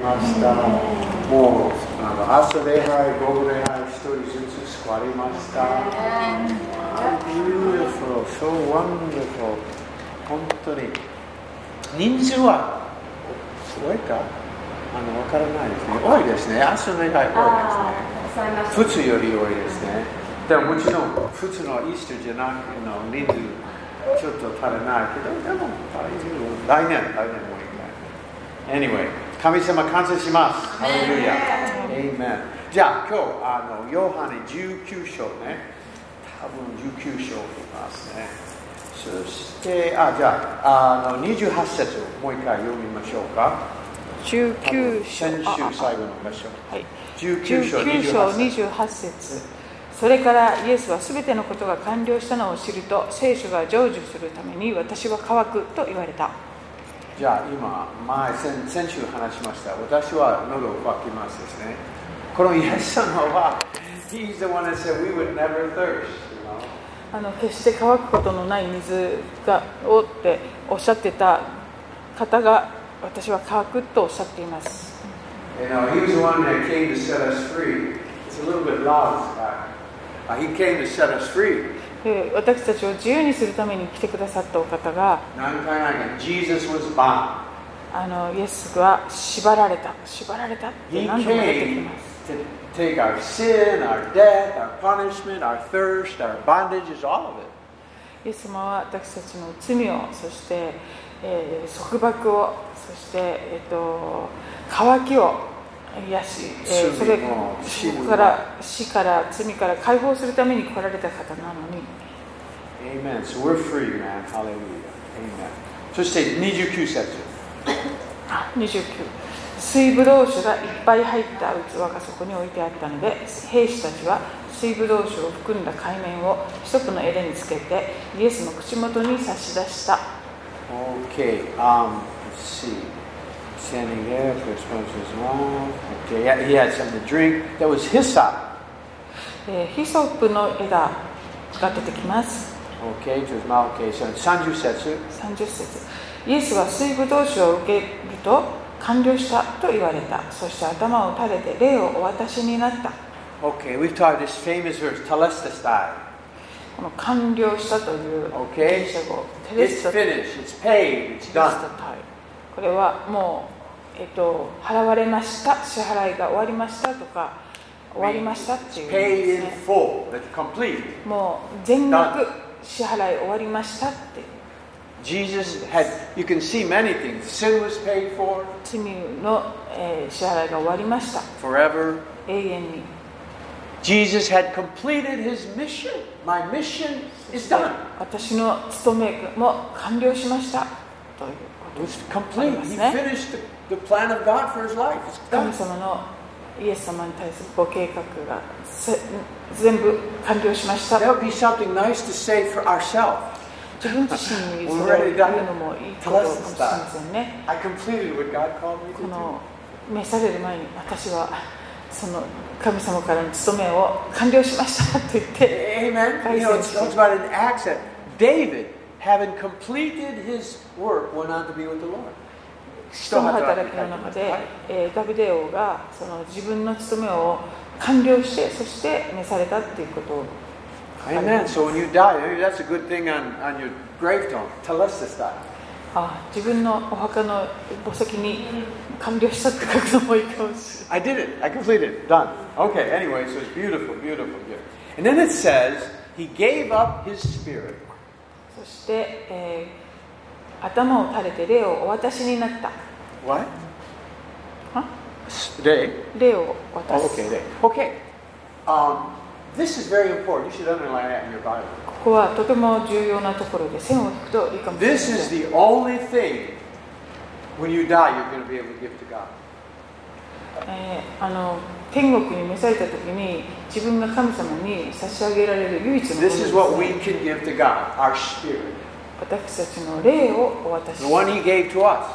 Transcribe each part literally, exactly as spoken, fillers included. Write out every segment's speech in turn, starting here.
ました。もうあの朝礼拝、午後礼拝、一人ずつ救われました。Beautiful, so wonderful. 本当に。人数は多いかあのわからないですね。多いですね。朝礼拝多いですね。普通より多いですね。でももちろん普通のイースターじゃなくての人数ちょっと足りないけど、でも来年、来年もいいか。Anyway、神様感謝します。ハレルヤ。Amen。じゃあ今日あのヨハネじゅうきゅう章ね。多分じゅうきゅう章を見ますね。そしてあじゃあ、あのにじゅうはち節をもう一回読みましょうか。 じゅうきゅう章。 先週最後の場所。 はい。 じゅうきゅう章にじゅうはち節。それからイエスはすべてのことが完了したのを知ると、聖書が成就するために私は乾くと言われた。 じゃあ今、前 先, 先週話しました。私は喉を渇きますですね。このイエス様は、He's the one that said we would never thirst. あの決して乾くことのない水がをっておっしゃってた方が、私は乾くとおっしゃっています。 You know, He was the one that came to set us free. It's a little bit loud. Uh, he came to set us free. 私たちを自由にするために来てくださったお方が、 何回か Jesus was bound. あのイエスは縛られた、縛られたって何度も出てきます。 To take our sin, our death, our punishment, our thirst, our bondages, all of it. イエス様は私たちの罪を、そして、えー、束縛を、そして、えー、と渇きを癒し、えー、それから死から罪から解放するために来られた方なのに。 Amen. So we're free, man. Hallelujah. Amen. そしてにじゅうきゅう節。 にじゅうきゅう。水ぶどう酒がいっぱい入った器がそこに置いてあったので、兵士たちは水ぶどう酒を含んだ海面を一つの枝につけてイエスの口元に差し出した。 Okay. Um, let's see.Standing there, first one was his mouth. Okay, he had something to drink. That was hyssop. ヒソップの枝が出てきます。 Okay, to his mouth. Okay, so さんじゅう節。 さんじゅう節。イエスは水ぶどう酒を受けると完了したと言われた。そして頭を垂れて霊をお渡しになった。 Okay, we've taught this famous verse, Telestai. この完了したというギリシャ語。It's finished. It's paid. It's done. これはもう、えっと、払われました、支払いが終わりましたとか、終わりましたっていう、 ね、paid in full. That's complete. もう全額支払い終わりましたって。 Jesus had, you can see many things. Sin was paid for. 罪の、えー、支払いが終わりました。 Forever. 永遠に。 Jesus had completed his mission. My mission is done. 私の務めも完了しましたという。 It was complete. He finished the, the plan of God for his life. It's done. 神様のイエス様に対するご計画が全部完了しました。 That would be something nice to say for ourselves. 自分自身にそれを言うのもいいことかもしれませんね。 I completed what God called me to do. この召される前に私はその神様からの務めを完了しましたと言って。 Amen. You know, it's about an accent. David.Having completed his work, went on to be with the Lord. 使徒の働きの中で、えー、ダビデ王がその自分の務めを完了して、そして召されたっていうことを。 Amen. So when you die, that's a good thing on, on your gravestone. Telestai. あ、自分のお墓の墓石に完了したって書くのもいいかもしれない。 I did it. I completed it. Done. Okay. Anyway, so it's beautiful, beautiful, beautiful. And then it says he gave up his spirit. そして、えー、頭を垂れて霊をお渡しになった。 What? は？ 霊？ 霊を渡す。 Oh, okay, 霊。Okay. Um, this is very important. You should underline that in your Bible. ここはとても重要なところで線を引くといいかもしれません。 This is the only thing when you die you're going to be able to give to God. えー、あの天国に召された時に自分が神様に差し上げられる唯一のものです、ね。This is what we can give to God, our spirit. 私たちの霊をお渡しし The one He gave to us.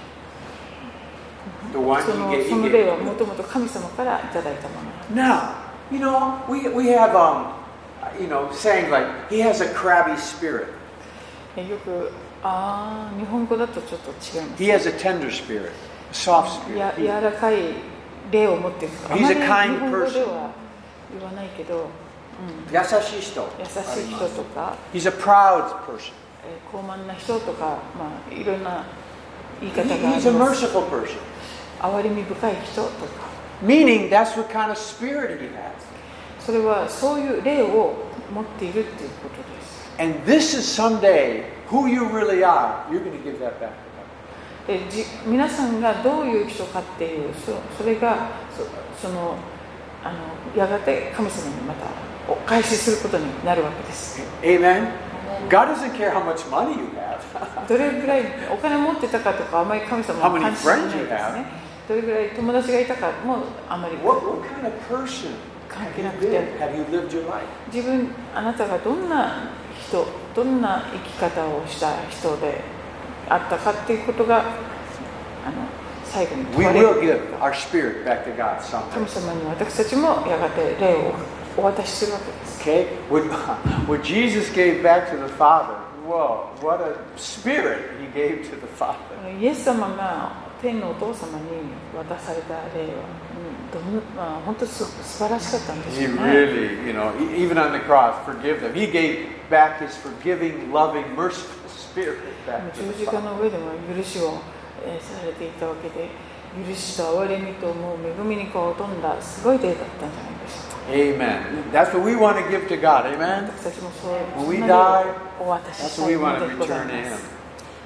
The one He gave. その霊はもともと神様からいただいたもの。 Now, you know, we we have um, you know, saying like He has a crabby spirit. よくああ日本語だとちょっと違います、ね。 He has a tender spirit. soft や spirit. 柔らかい霊を持っているとか、あ He's ま a り kind 日本語で person. は言わないけど、うん、 優しい人。 優しい人とか、 He's a proud person. えー高慢な人とか、まあ、いろんな言い方があ He- り He's a ます。 merciful person. 憐れみ深い人とか、 Meaning that's what kind of spirit he has. それはそういう霊を持っているっていうことです。 And this is someday who you really are. You're going to give that back to God. でじ皆さんがどういう人かっていう、そそれが そ, そのあのやがて神様にまたお返しすることになるわけです。 Amen. God doesn't care how much money you have. どれぐらいお金持ってたかとかあまり神様は関心ないですね。どれぐらい友達がいたかもあまり What, what kind of person 関 have 係 you なくて、 been? Have you lived your life? 自分あなたがどんな人、どんな生き方をした人であったかっていうことがあの最後に We 問われる。 will give our spirit back to God someday. 神様に私たちもやがて霊をお渡しするわけです。 Okay? What, what Jesus gave back to the Father. Whoa, what a spirit he gave to the Father. イエス様が天のお父様に渡された霊は、うんどんまあ、本当に す, 素晴らしかったんです He よね。 really, you know, e- even on the cross, forgive them. He gave back his forgiving, loving, merciful spirit back to 十 the 字架 Father. の上でも許しを、えーされていたわけで、許しと憐れみともう恵みにこう富んだすごい霊だったんじゃないでしょうか。 Amen. That's what we want to give to God. Amen. 私たちもそう When we そんな die, 霊をお渡し that's した what い we も want の to でござい return to ま him. す。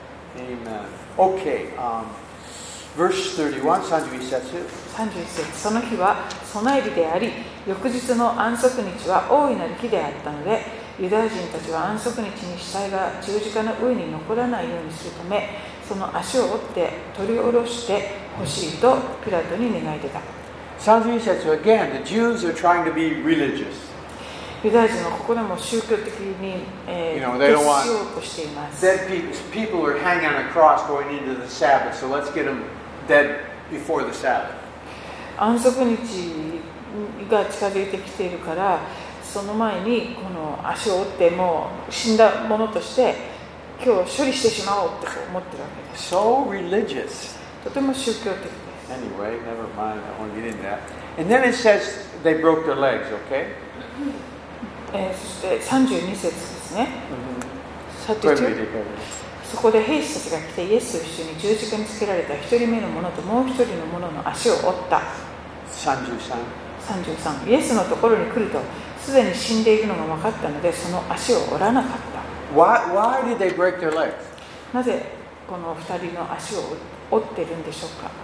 Amen. Okay. Um, verse thirty-one, さんじゅういち節。 さんじゅういち節、その日は備え日であり、翌日の安息日は大いなる日であったので、ユダヤ人たちは安息日に死体が十字架の上に残らないようにするため、その足を折って取り下ろしてほしいとピラトに願い出た。 さんじゅういち節 again, the Jews are trying to be religious. ユダヤ人のここでも宗教的に、えー You know, they don't want 徹しようとしています。 Dead people, people are hanging on a cross going into the Sabbath, so let's get them dead before the Sabbath. 安息日が近づいてきているから、その前にこの足を折ってもう死んだものとして今日処理してしまおうって思ってるわけです。 So religious. とても宗教的です。 Anyway, never mind, I don't want to get into that. And then it says they broke their legs, okay? えー、そしてさんじゅうに節ですね。 Go ahead and read さんじゅう it, go ahead. そこで兵士たちが来てイエスと一緒に十字架につけられた一人目の者ともう一人の者の足を折った。 さんじゅうさん。 さんじゅうさん、イエスのところに来るとすでに死んでいるのが分かったので、その足を折らなかった。 Why, why did they break their legs? なぜこの二人の足を折っているんでしょうか。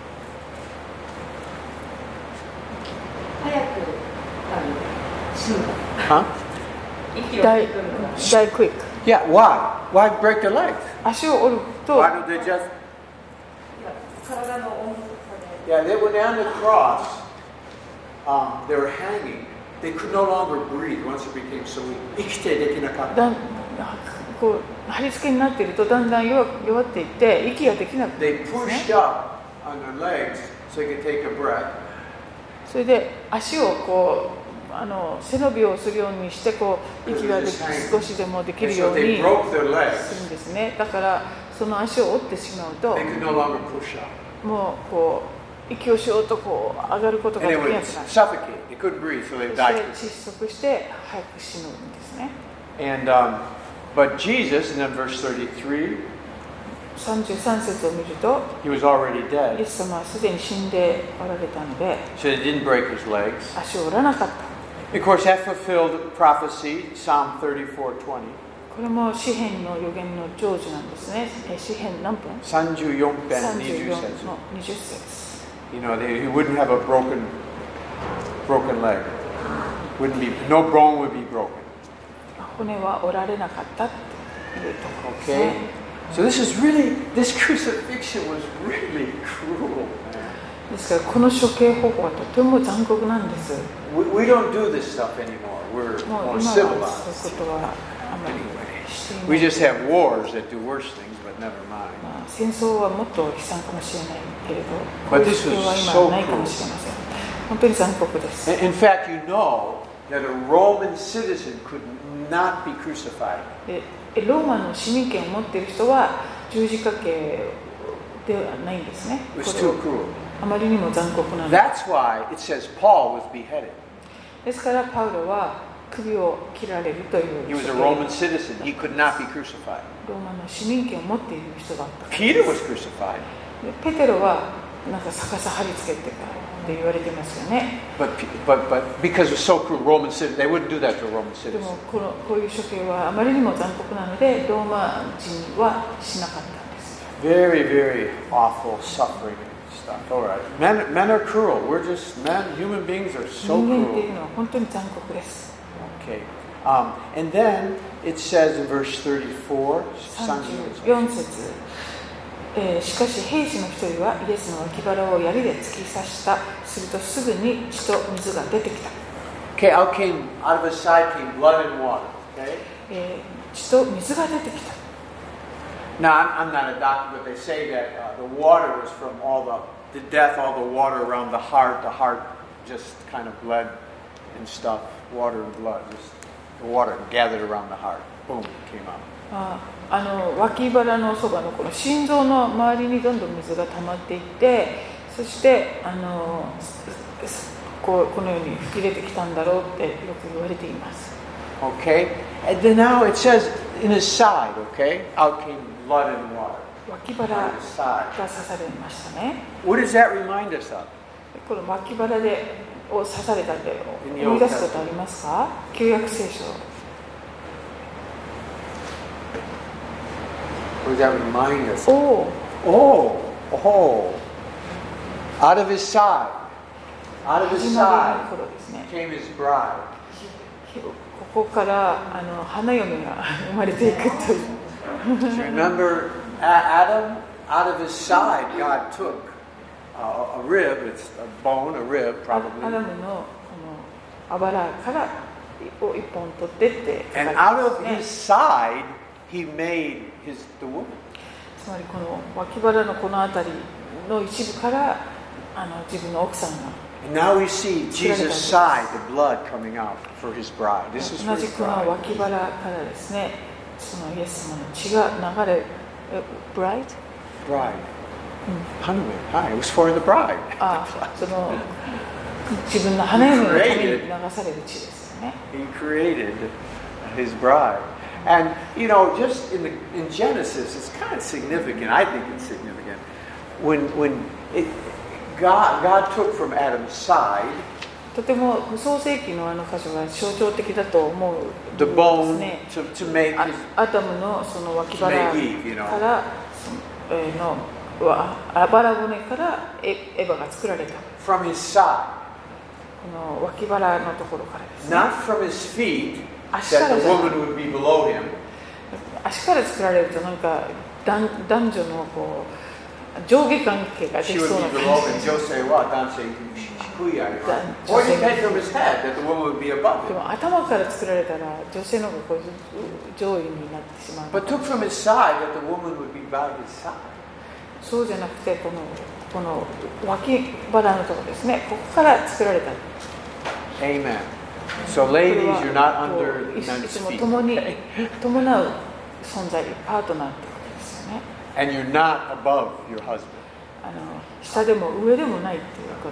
早く死ぬ。 Huh? 息を Die, 吸い取るのが die quick. Yeah, why? Why break their legs? 足を折ると Why don't they just... 体の温度差で Yeah, they were on the cross. Um, they were hanging. They could no longer breathe once it became so weak. 生きてできなかった。 だんこう貼り付けになっているとだんだん弱弱っていって息ができなくなる They んです pushed ね。 up on their legs so they could take a breath. それで足をこうあの背伸びをするようにしてこう息ができ少しでもでき And るよ so う they に broke their する legs. んですね。だからその足を折ってしまうと They could no longer push up. もうこう息をしようとこう上がることが And で they きな would くなる。 suffocate. They couldn't breathe, so そ they して died. 窒息して早く死ぬんですね。 And um, but Jesus, and then verse thirty-three, さんじゅうさん節を見ると he was already イエ dead, ス様はすでに死んでおられたので so they didn't break his legs. 足を折らなかった。 Of course, that fulfilled prophecy, Psalm thirty-four twenty. これも詩篇の予言の成就なんですね。え詩篇何分さんじゅうよん編さんじゅうよんにじゅっ節。 のにじゅっ節。 You know, they, he wouldn't have a broken, broken leg. Wouldn't be, no bone would be broken. 骨は折られなかったっていうところです Okay? ね。 So this is really, this crucifixion was really cruel. ですからこの処刑方法はとても残酷なんです。 We, we don't do this stuff anymore. We're も more う今はそういうこ civilized. とはあまりしていない。 We just have wars that do worse things, but never mind. まあ、戦争はもっと悲惨かもしれないけれど、こ But ういう this 主 was 権は so 今ないかもしれません。本当に残酷です。 In in fact, you know that a Roman citizen could not be crucified. でローマの市民権を持っている人は十字架刑ではないんですね。 It was too cruel. あまりにも残酷なので。 That's why it says Paul was beheaded. ですからパウロは首を切られるという。 He was a Roman citizen. He could not be crucified. ローマの市民権を持っている人だった。 Peter was crucified. ペテロはなんか逆さ貼り付けてからって言われてますよね。 But, but, but because it was so cruel, Roman citizen, they wouldn't do that to a Roman で citizen. もこのこういう処刑はあまりにも残酷なのでローマ人はしなかったんです。 Very, very awful suffering and stuff. All right. Men, men are cruel. We're just men. Human beings are so 人間ってい cruel. うのは本当に残酷です。 Okay. Um, and then it says in verse thirty-four, さんじゅうよん節、えー、しかし兵士の一人はイエスの脇腹を槍で突き刺した。するとすぐに血と水が出てきた。 Okay, out came out of his side came blood and water. Okay. えー、血と水が出てきた。 Now I'm, I'm not a doctor, but they say that uh, the water was from all the the death, all the water around the heart. The heart just kind of bled and stuff. Water and blood, just the water gathered around the heart. Boom, came out. あ, あの脇腹のそばのこの心臓の周りにどんどん水が溜まっていって、そしてあのこうこのように吹き出てきたんだろうってよく言われています。 Okay, and then now it says in his side. Okay, out came blood and water. 脇腹が刺されましたね。 What does that remind us of? この脇腹でを刺されたって思い出すことありますか？旧約聖書。 What does that remind us? お Oh, oh, out of his side, out of his 始ま side りの頃ですね。 came his bride. ここからあの花嫁が生まれていくという。 Do you remember Adam? Out of his side, God took uh, a rib. It's a bone, a rib, ア probably. ダムのこのあばらからを一本取ってって書かれ And てま out す of ね。 his side, he made his the woman. つまりこの脇腹のこの辺りの一部からあの自分の奥さんが。 And now we see Jesus' side, the blood coming out for his bride. This is 同 for じ his この bride. 脇腹からですね、そのイエス様の血が流れ、え、bride？ Bride. Honeymoon. Hi, it was for the bride. あ、その自分の花嫁のために流される血ですよね。 He created his bride. And, you know, just in, the, in Genesis, it's kind of significant. I think it's significant. When, when it, God, God took from Adam's side とても創世記のあの箇所が象徴的だと思う the です bone ね。 to, to make あ his, アダムのその脇腹 to make Eve, you know. からその、えーのわあばら骨からエエヴァが作られた。 from his side, この脇腹のところからですね。 not from his feet, 足か that ら the じゃない。 woman would be below him. 足から作られるとなんか男男女のこう上下関係がで She き would そうな be 感 below じ him. Jose, what? Danse, shikuya. Or it depends from his head, that the woman would be above で him. も頭から作られたら女性の方がこう上位になってしまう。 But took from his side, that the woman would be by his side. そうじゃなくてこのこの脇腹のところですね。ここから作られた。 Amen. So これ ladies, は you're not こ under うい men's いつも feet. 共に伴う存在、パートナーってことですよね。 And you're not above your husband. あの下でも上でもないっていうこと。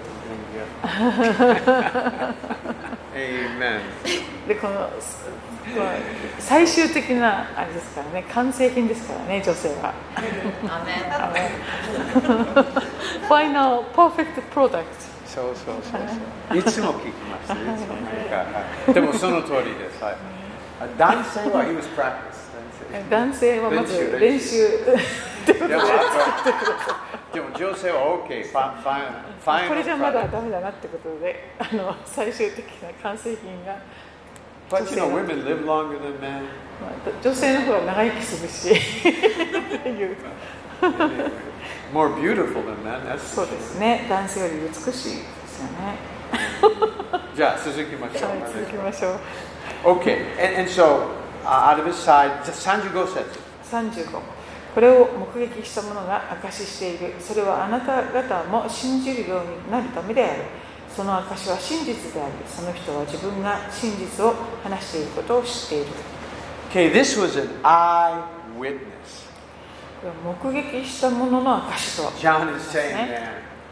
Amen. でこのまあ最終的なあれですからね、完成品ですからね、女性は。Final perfect product。 そうそうそうそう。いつも聞きました。いつも聞きました。でもその通りです。はい。男性は he was practice。 男性はまず練習。 でもでも女性は OK。ファファイファイナル。 これじゃまだダメだなってことで、あの最終的な完成品が。 But you know, women live longer than men. 女性の方が長生きするしっていう。 More beautiful than men. That's そうですね。男性より美しいですよね。 じゃあ続きましょう。 はい、続きましょう。 Okay, and, and so uh, out of his side, さんじゅうご節。 さんじゅうご。これを目撃した者が証ししている。それはあなた方も信じるようになるためである。その証は真実であり、その人は自分が真実を話していることを知っている。 Okay, this was an eyewitness. こ目撃したものの証とは John is saying, man,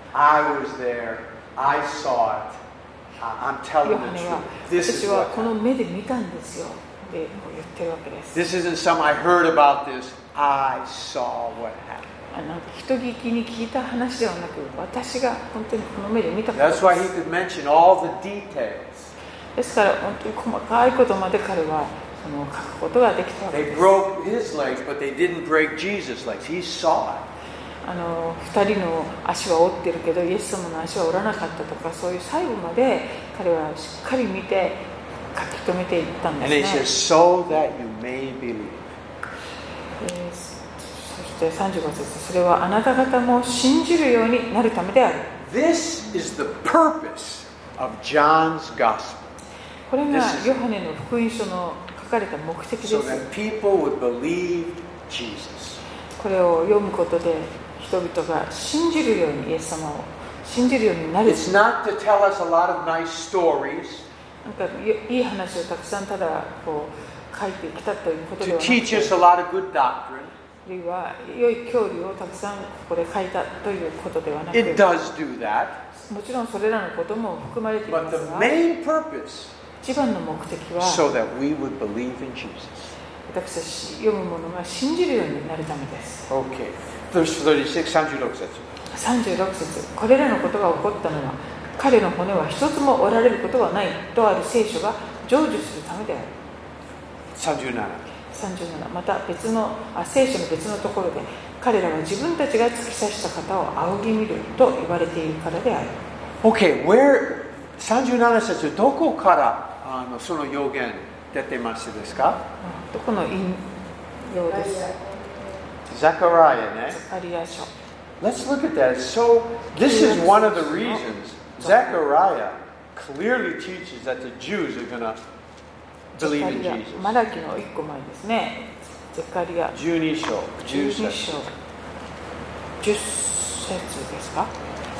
I was there, I saw it, I'm ヨ telling ハ the ネは truth. This 私 is は what この happened. 目で見たんですよって言ってるわけです。 This isn't some I heard about this, I saw what happened. あなんか人聞きに聞いた話ではなく、私が本当にこの目で見たことで That's す。 why he could mention all the details. ですから本当に細かいことまで彼はその書くことができたわけ They です。 broke his legs, but they didn't break Jesus' legs. He saw it. あの二人の足は折ってるけどイエス様の足は折らなかったとか、そういう細部まで彼はしっかり見て書き留めていったんで And す he ね。 says, so that you may believe. えーそしてさんじゅうご節、それはあなた方も信じるようになるためである。 This is the purpose of John's gospel. これが This is- ヨハネの福音書の書かれた目的です So that people would believe Jesus. これを読むことで人々が信じるようにイエス様を信じるようになる。 It's not to tell us a lot of nice stories, なんかいい話をたくさんただこう書いてきたということで to はなく teach て、 us a lot of good doctrine. あるいは良い教理をたくさんここで書いたということではなく、 It does do that. もちろんそれらのことも含まれていま But す the が、 main purpose, 一番の目的は so that we would believe in Jesus. 私たち読む者が信じるようになるためです。 Okay. Verse thirty-six, さんじゅうろく節。 さんじゅうろく節、これらのことが起こったのは彼の骨は一つも折られることはないとある聖書が成就するためである。 さんじゅうなな。 さんじゅうなな、また別のあ聖書の別のところで彼らは自分たちが突き刺した方を仰ぎ見ると言われているからである。 Okay, where さんじゅうなな節、どこからあのその予言出てますですか？ どこの引用ですか？ ザカラヤね。 ザカリヤ書。 Let's look at that. So, this is one of the reasons Zechariah clearly teaches that the Jews are going to ザカ believe in リヤ Jesus. マラキの一個前ですね。ザカリヤじゅうに章、 じゅうにじゅっ章節。 じゅっ節ですか？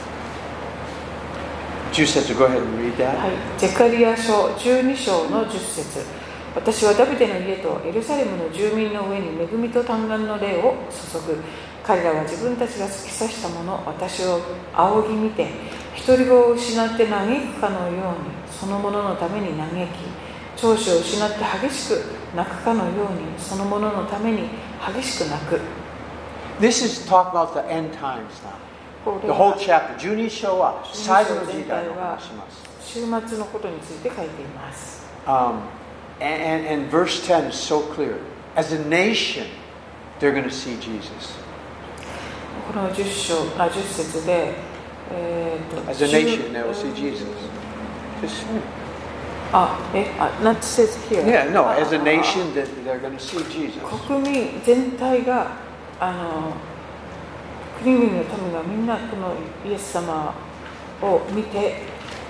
じゅっ節、go ahead and read that. はい、ゼカリヤ書じゅうに章のじゅっ節。私はダビデの家とエルサレムの住民の上に恵みと嘆願の霊を注ぐ。彼らは自分たちが突き刺したもの、私を仰ぎ見て、独り子を失って嘆くかのように、そのもののために嘆き、長子を失って激しく泣くかのように、そのもののために激しく泣く。 This is talk about the end times now. これ The whole は chapter. じゅうに章は最後の時代の話します。 週末のことについて書いています。 Um, and, and, and verse ten is so clear. As a nation, they're going to see Jesus. このじゅっ章、あ、じゅっ節で、えーと、 As a nation, they will see Jesus. Just, あ、え、あ、not says here. yeah, no, あ as a あ nation, that they're going to see Jesus. 国民全体が、あの、国々の民がみんなこのイエス様を見て、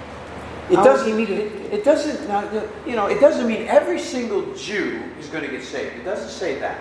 It 仰 doesn't, ぎ見る。 it, it doesn't, not, you know, it doesn't mean every single Jew is going to get saved. It doesn't say that.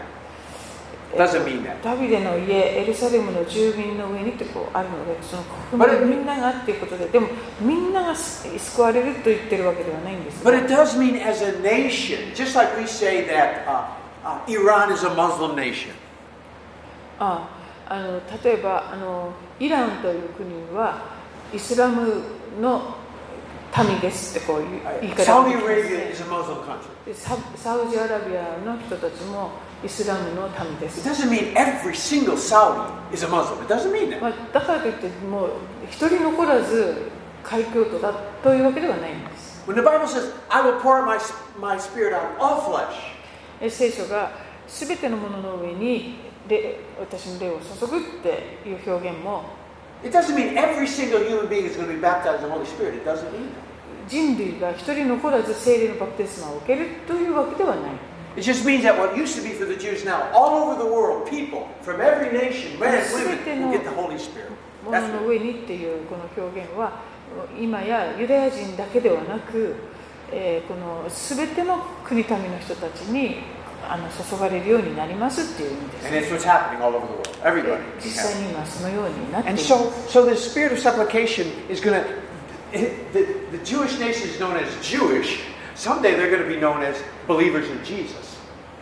It doesn't mean that. ダビデの家、エルサレムの住民の上にってこうあるので、その But 国 it- 民みんながっていうことで、でもみんなが救われると言ってるわけではないんです But が。 it does mean as a nation, just like we say that uh, uh, Iran is a Muslim nation. ああの例えばあのイランという国はイスラムの民ですってこういう言い方を Saudi できます Arabia ね is a Muslim country. でササウジアラビアの人たちもイスラムの民で It す、 doesn't mean every single Saudi is a Muslim. It doesn't mean that. まあ、だからといってもう一人残らず開教徒だというわけではないんです。 When the Bible says, I will pour out my, my spirit on all flesh, え聖書が全てのものの上に霊私の霊を注ぐっていう表現も it doesn't mean every single human being is going to be baptized in the Holy Spirit. It doesn't mean that. 人類が一人残らず聖霊のバプテスマを受けるというわけではない。 It just means that what used to be for the Jews now, all over the world, people from every nation, men and women, will get the Holy Spirit. も That's の what の上にっていうこの表現は今やユダヤ人だけではなく、えー、この全ての国民の人たちにあの注がれるようになりますっていう意味です。 And it's what's happening all over the world. Everybody. 実際に今そのようになってい And ます。 so, so the spirit of supplication is going to, the, the Jewish nation is known as Jewish. Someday they're going to be known as believers in Jesus.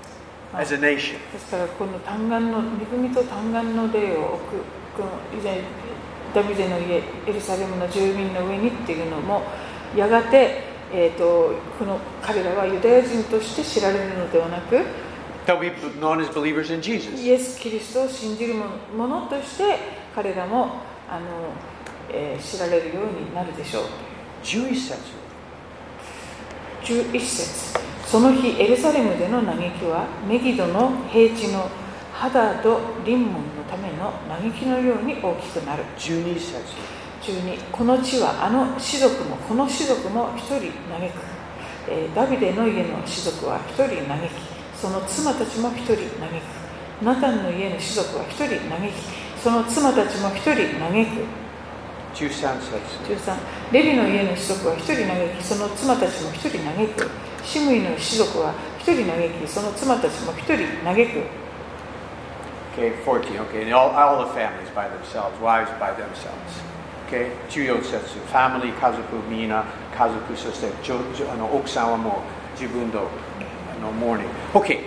as a nation. ですからこの嘆願の恵みと嘆願の霊を置くこの以前ダビデの家エルサレムの住民の上にっていうのもやがて、えー、とこの彼らはユダヤ人として知られるのではなく They'll be known as believers in Jesus. イエス・キリストを信じる者として彼らもあの、えー、知られるようになるでしょう。 じゅういち節じゅういち節その日エルサレムでの嘆きはメギドの平地のハダド・リンモンのための嘆きのように大きくなる。 じゅうに節じゅうにこの地はあの士族もこの士族も一人嘆く、えー、ダビデの家の士族は一人嘆きその妻たちも一人嘆くナタンの家の士族は一人嘆きその妻たちも一人嘆く。 じゅうさん節じゅうさんレビの家の士族は一人嘆きその妻たちも一人嘆くシムイの士族は一人嘆きその妻たちも一人嘆く。 Okay, fourteen. Okay, and all, all the families by themselves, wives by themselves. Okay, じゅうよん節 family 家族みんな家族そしてちょちょあの奥さんはもう自分のあの mourning. Okay,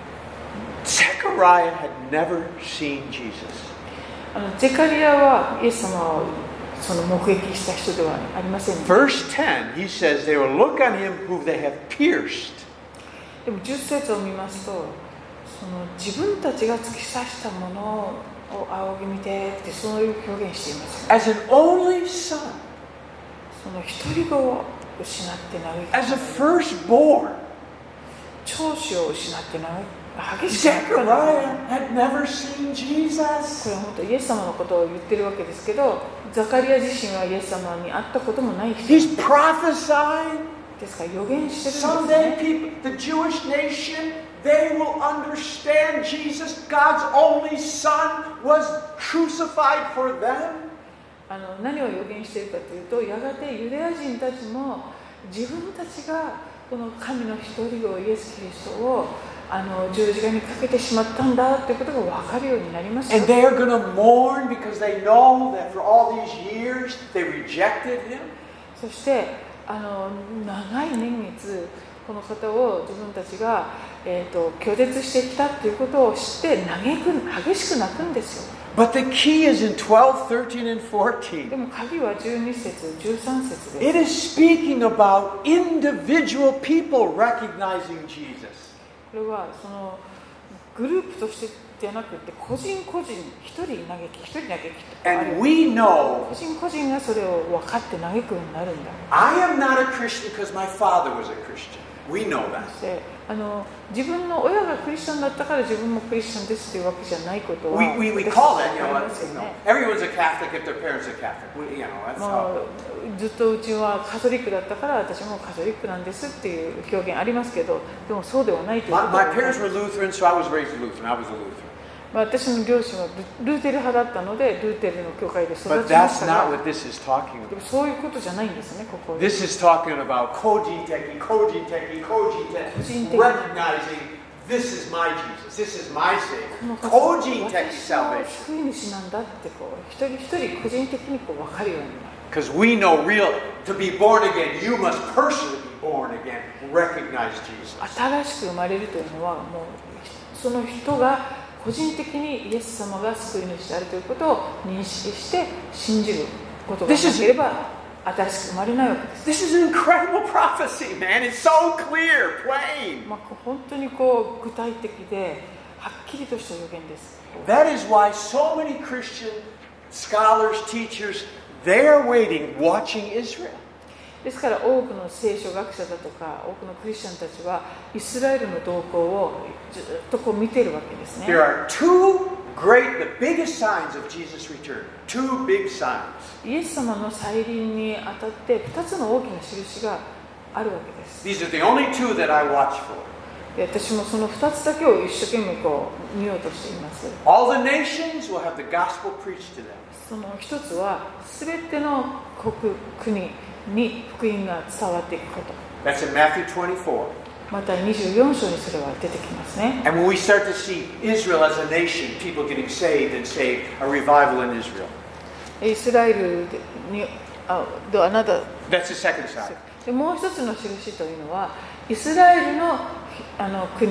Zechariah had never seen Jesus. あのゼカリアはイエス様をその目撃した人ではありません、ね。 Verse ten, he says they will look on him whom they have pierced. でもじゅっ節を見ますと、その自分たちが突き刺したものを仰ぎ見てってそういう表現しています、ね。 As an only son, その一人子を失って嘆き、 as a firstborn, 長子を失って嘆き。激しく Zechariah had never seen Jesus. これは本当イエス様のことを言ってるわけですけど、ザカリア自身はイエス様に会ったこともない人 He's prophesying. ですから予言してるんです Someday ね。 people, the Jewish nation, they will understand Jesus, God's only son, was crucified for them. あの何を予言しているかというと、やがてユダヤ人たちも自分たちがこの神の一人子イエス・キリストをあの十字架にかけてしまったんだということが分かるようになりますよ。 And they are going to mourn because they know that for all these years they rejected him. そしてあの長い年月この方を自分たちが、えー、と拒絶してきたということを知って嘆く激しく泣くんですよ。 But the key is in twelve, thirteen, and fourteen. でも鍵はじゅうに節、じゅうさん節です。 It is speaking about individual people recognizing Jesus. これはそのグループとしてじゃなくて個人個人一人嘆き一人嘆き And we know 個人個人がそれを分かって嘆くようになるんだ。 I am not a Christian because my father was a Christian. We know that. であの自分の親がクリスチャンだったから自分もクリスチャンですというわけじゃないことは We, we, we call that, you know, you know, everyone's a Catholic if their parents are Catholic. We, you know, that's も how. うずっとうちはカトリックだったから私もカトリックなんですっていう表現ありますけど、でもそうではないということ My, は my parents were Lutheran, so I was raised Lutheran. I was a Lutheran. 私の両親はルーテル派だったのでルーテルの教会で育ち But まし that's た not が、 what this is talking でも about. そういうことじゃないんですね、ここ。 This is talking about kojiteki, kojiteki, kojiteki, recognizing this is my Jesus, this is my Savior. Kojiteki 私は salvation. 救い主なんだってこう一人一人個人的にこう分かるようになる。 Because we know real, to be born again, you must personally be born again, recognize Jesus. 新しく生まれるというのはもうその人が個人的にイエス様が救い主であるということを認識して信じることがなければ新しく生まれないわけです。 This is an incredible prophecy, man. It's so clear, plain. まあ、本当にこう具体的ではっきりとした予言です。 That is why so many Christian scholars, teachers, they are waiting, watching Israel. ですから多くの聖書学者だとか多くのクリスチャンたちはイスラエルの動向をずっとこう見ているわけですね。 There are two great, the biggest signs of Jesus' return. Two big signs. イエス様の再臨にあたってふたつの大きな印があるわけです。 These are the only two that I watch for. で私もそのふたつだけを一生懸命こう見ようとしています。 All the nations will have the gospel preached to them. その一つはすべての国国に福音が伝わっていくこと。 That's in Matthew twenty-four. またにじゅうよん章にそれは出てきますね。 And when we start to see Israel as a nation, people getting saved and saved, a revival in Israel. イスラエルにあではなた That's the second sign. でもう一つの印というのはイスラエルの、あの国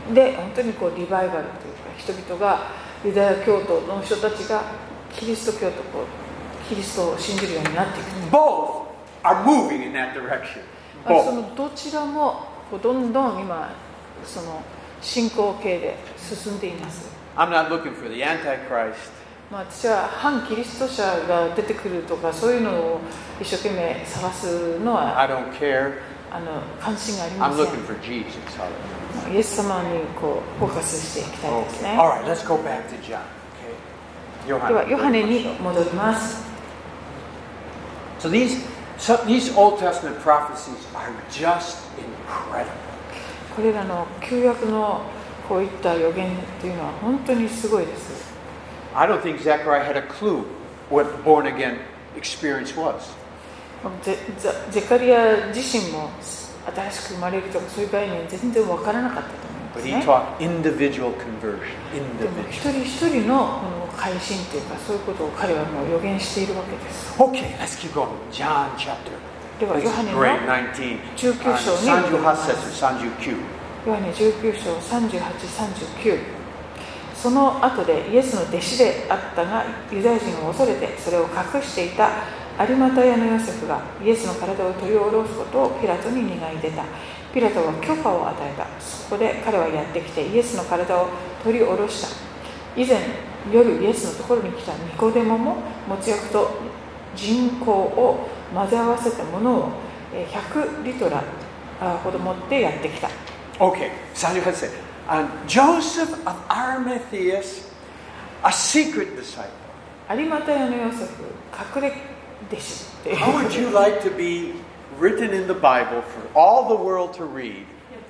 で本当にこうリバイバルというか、人々がユダヤ教徒の人たちがキリスト教とこうキリストを信じるようになっていく。 Both are moving in that direction. そのどちらもこうどんどん今その進行形で進んでいます。 I'm not looking for the Antichrist. まあ、私は反キリスト者が出てくるとかそういうのを一生懸命探すのは I don't care. あの関心がありま I'm せん。 looking for Jesus. Hallelujah. イエス様にこうフォーカスしていきたいですね。 Okay. All right, let's go back to John. Okay. ではヨハネに戻ります。 So these, so these Old Testament prophecies are just incredible. これらの旧約のこういった予言というのは本当にすごいです。 I don't think Zechariah had a clue what born again experience was. ゼ, ゼカリア自身も新しく生まれるとかそういう概念全然わからなかったと思います But ね。 he taught individual conversion. でも Individual. 一人一人のこの改心というかそういうことを彼はもう予言しているわけです。 Okay, let's keep going. John chapter. では This ヨ is ハネの great. nineteen. じゅうきゅう章にさんじゅうはち節、さんじゅうきゅう。 ヨハネじゅうきゅう章さんじゅうはち、さんじゅうきゅう。その後でイエスの弟子であったがユダヤ人を恐れてそれを隠していた有馬太屋のヨセフがイエスの体を取り下ろすことをピラトに願い出た。ピラトは許可を与えた。そこで彼はやってきてイエスの体を取り下ろした。以前夜イエスのところに来たニコデモももつ薬と人香を混ぜ合わせたものをひゃくリトラほど持ってやってきた。 Okay, さんじゅうはち節。And Joseph of Arimatheus, a secret disciple. 有馬太屋のヨセフ、隠れ弟子っていう。 How would you like to be written in the Bible for all the world to read?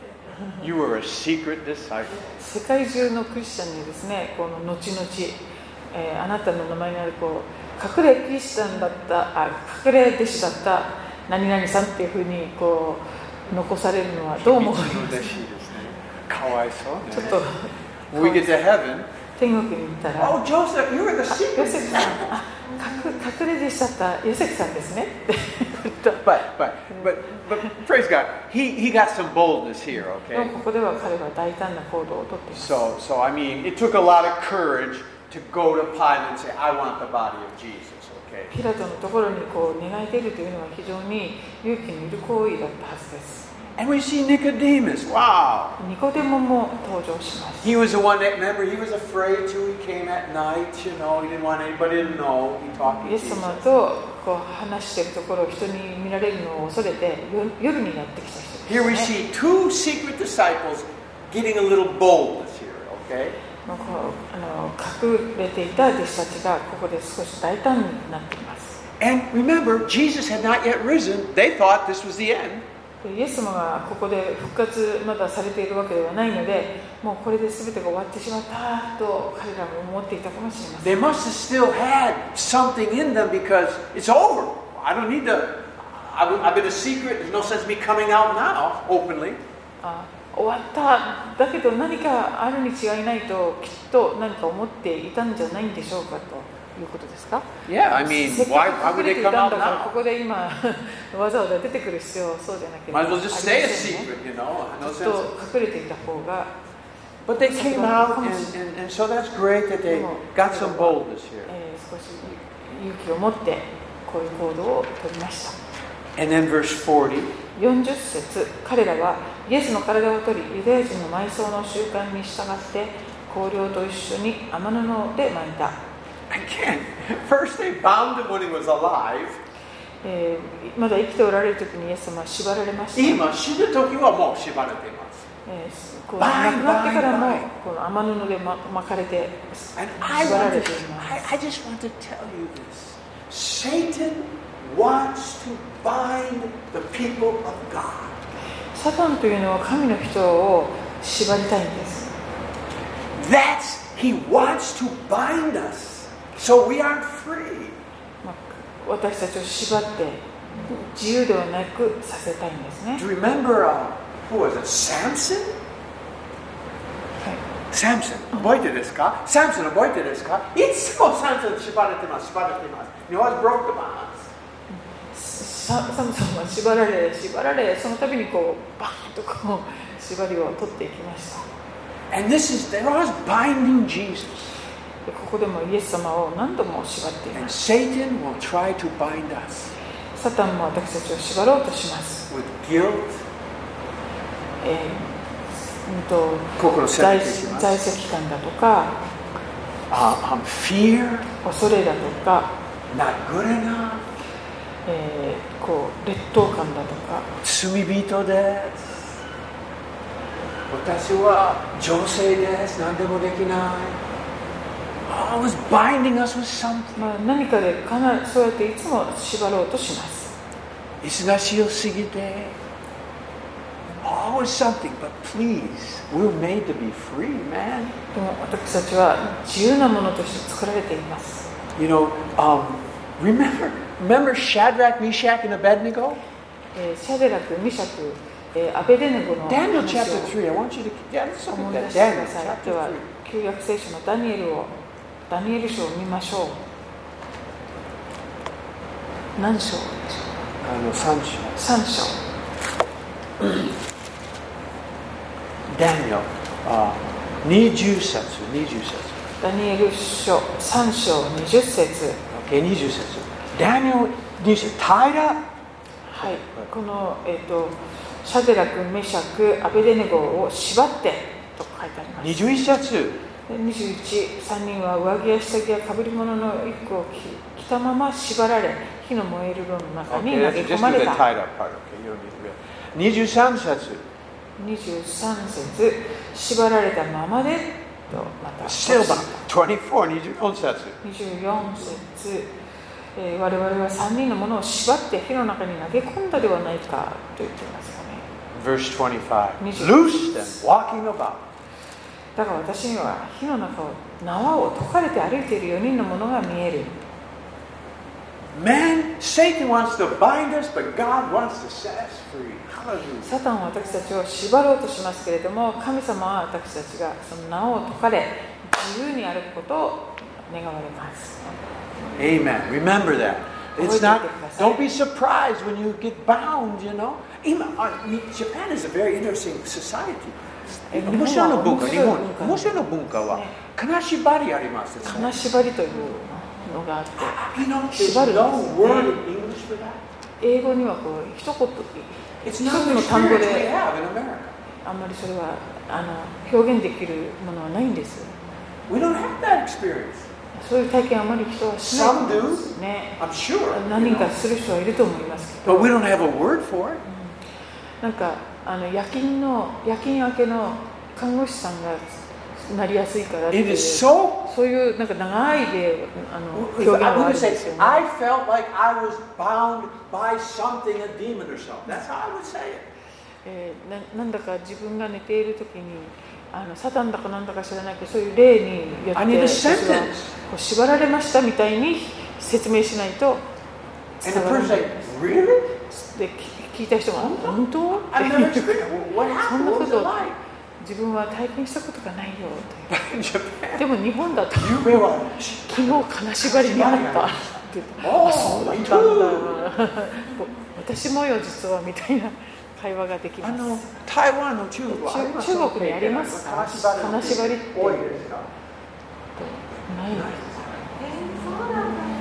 You were a secret disciple. 世界中のクリスチャンにですね、この後々、えー、あなたの名前にあるこう隠れクリスチャンだったあ隠れ弟子だった何々さんっていうふうにこう残されるのはどう思いますか？ かわいそうね。 ちょっと When we get to heaven, 天国に行ったら、 oh Joseph, you were the あ secret ヨセフさん、 disciple. あ隠隠れ弟子だったヨセフさんですねって言った。 But but but but praise God, he he got some boldness here, でも okay? ここでは彼は大胆な行動をとっています。 So so I mean, it took a lot of courage to go to Pilate and say, I want the body of Jesus, okay? ピラトのところにこう願い出るというのは非常に勇気のいる行為だったはずです。 And we see Nicodemus. Wow. ニコデモも登場します。 He was the one that, remember, he was afraid too. He came at night, you know, he didn't want anybody to know. He talked イ to エス様 Jesus. とこう話しているところを人に見られるのを恐れてよ夜にやってきた人 Here we ですね。 see two secret disciples getting a little boldness here, okay? まあこうあの隠れていた弟子たちがここで少し大胆になっています。 And remember, Jesus had not yet risen. They thought this was the end. イエス様がここで復活まだされているわけではないので、もうこれで全てが終わってしまったと彼らも思っていたかもしれません。 They must have still had something in them because it's over. I don't need to. I've I've been a secret. There's no sense me coming out now openly. あ終わっただけど何かあるに違いないときっと何か思っていたんじゃないんでしょうかということですか？ Yeah, I mean, せっ why, か why く would 隠れ they てい come たん out だからこ now? こで今わざわざ出てくる必要そうでなければ Might as あ well り just ま stay a せんね。 secret, you know. No ずっ sense. と隠れていた方が But they came out, and, and, and so that's great that they got some boldness here. えー少し勇気を持ってこういう行動を取りました。 And then verse forty. よんじゅっ節、彼らはイエスの体を取りユダヤ人の埋葬の習慣に従って香料と一緒に天布で巻いた。 Again, first they bound him when he was alive. えーまだ生きておられる時にイエス様は縛られました。 今死ぬ時はもう縛られています。 えーこう亡くなってからもこの天布で巻かれて And I 縛ら want れ to, ています。 I, I just want to tell you this. Satan wants to bind the people of God. サタンというのは神の人を縛りたいんです。 That's, he wants to bind us. So we aren't free. まあ私たちを縛って自由ではなくさせたいんですね。 Do you remember, uh, who was it, Samson? はい、 Samson, 覚えてですか Samson 覚えてですかいつも Samson 縛られてます、縛られてます。He always broke the bonds. ササムソンは縛られ縛られその度にこうバーンとこう縛りを取っていきました。 And this is, they're always binding Jesus. でここでもイエス様を何度も縛ってい And ます。 Satan will try to bind us サタンも私たちを縛ろうとします。 with guilt. えーうんと心を責めていきます。 在籍感だとか、 Uh, um, fear, 恐れだとか、 not good enough. えーこう劣等感だとか、 罪人です。私は女性です。何でもできない。Always binding us with something. まあ、何かでかなそうやっていつも縛ろうとします。 忙しよすぎて。Always something, but please, we're made to be free, man. でも私たちは自由なものとして作られています。 You know, um, remember, remember Shadrach, Meshach, and Abednego? えーシャデラク、ミシャク、えーアベデネゴの Daniel 話 chapter を three. I want you to, yeah, let's look 思 at い出 that. してく Daniel ださい。 chapter では three. 旧約聖書のダニエルをダニエル書を見ましょう。何章？ あの三章。 三章。 Daniel, uh, 二十節、二十節。 ダニエル書三章二十節。 Okay, 二十節。Daniel 二十節。平。 はい。このえっ、ー、とシャデラク、メシャク、アベデネゴを縛ってと書いてあります。 二十一節。 にじゅういち、さんにんは上着や下着やかぶり物の衣服を着たまま縛られ、火の燃える炉の中に投げ込まれた。 にじゅうさん節。 にじゅうさん節、縛られたままでとまた。 Still back. にじゅうよん、にじゅうよん節。 にじゅうよん節、えー、我々はさんにんのものを縛って火の中に投げ込んだではないかと言っていますよね。 Verse twenty-five. Loose them, walking about. だから私には火の中を縄を解かれて歩いているよにんのものが見える。 Man, Satan wants to bind us, but God wants to set us free. Hallelujah. サタンは私たちを縛ろうとしますけれども、神様は私たちがその縄を解かれ自由に歩くことを願われます。 Amen. Remember that. It's not. Don't be surprised when you get bound. You know. Japan is a very interesting society. 面白いの文化、日本、面白いの文化は金縛りあります。 金縛りというのがあって、 縛る。 英語にはこう一言、一つの単語であんまりそれはあの表現できるものはないんです。そういう体験あまり人はしないと思いますね。何人かする人はいると思いますけど。 But we don't have a word for it. なんかあの夜勤の夜勤明けの看護師さんがなりやすいからっていう、 so, そういうなんか長いであの表現があるんですよね。 I felt like I was bound by something, a demon or something. That's how I would say it. えー、な, なんだか自分が寝ている時にあのサタンだかなんだか知らないけどそういう霊によって私はこう縛られましたみたいに説明しないと伝わらないです。 Really? で聞いた人が本当ってそんなこと自分は体験したことがないよとでも日本だと昨日金縛りにあったって言ってあそうだったんだ私もよ実はみたいな会話ができます。あの台湾の中国はありますか？ 中国にありますか？金縛りって多いですか？ ないです。 そうなんだ。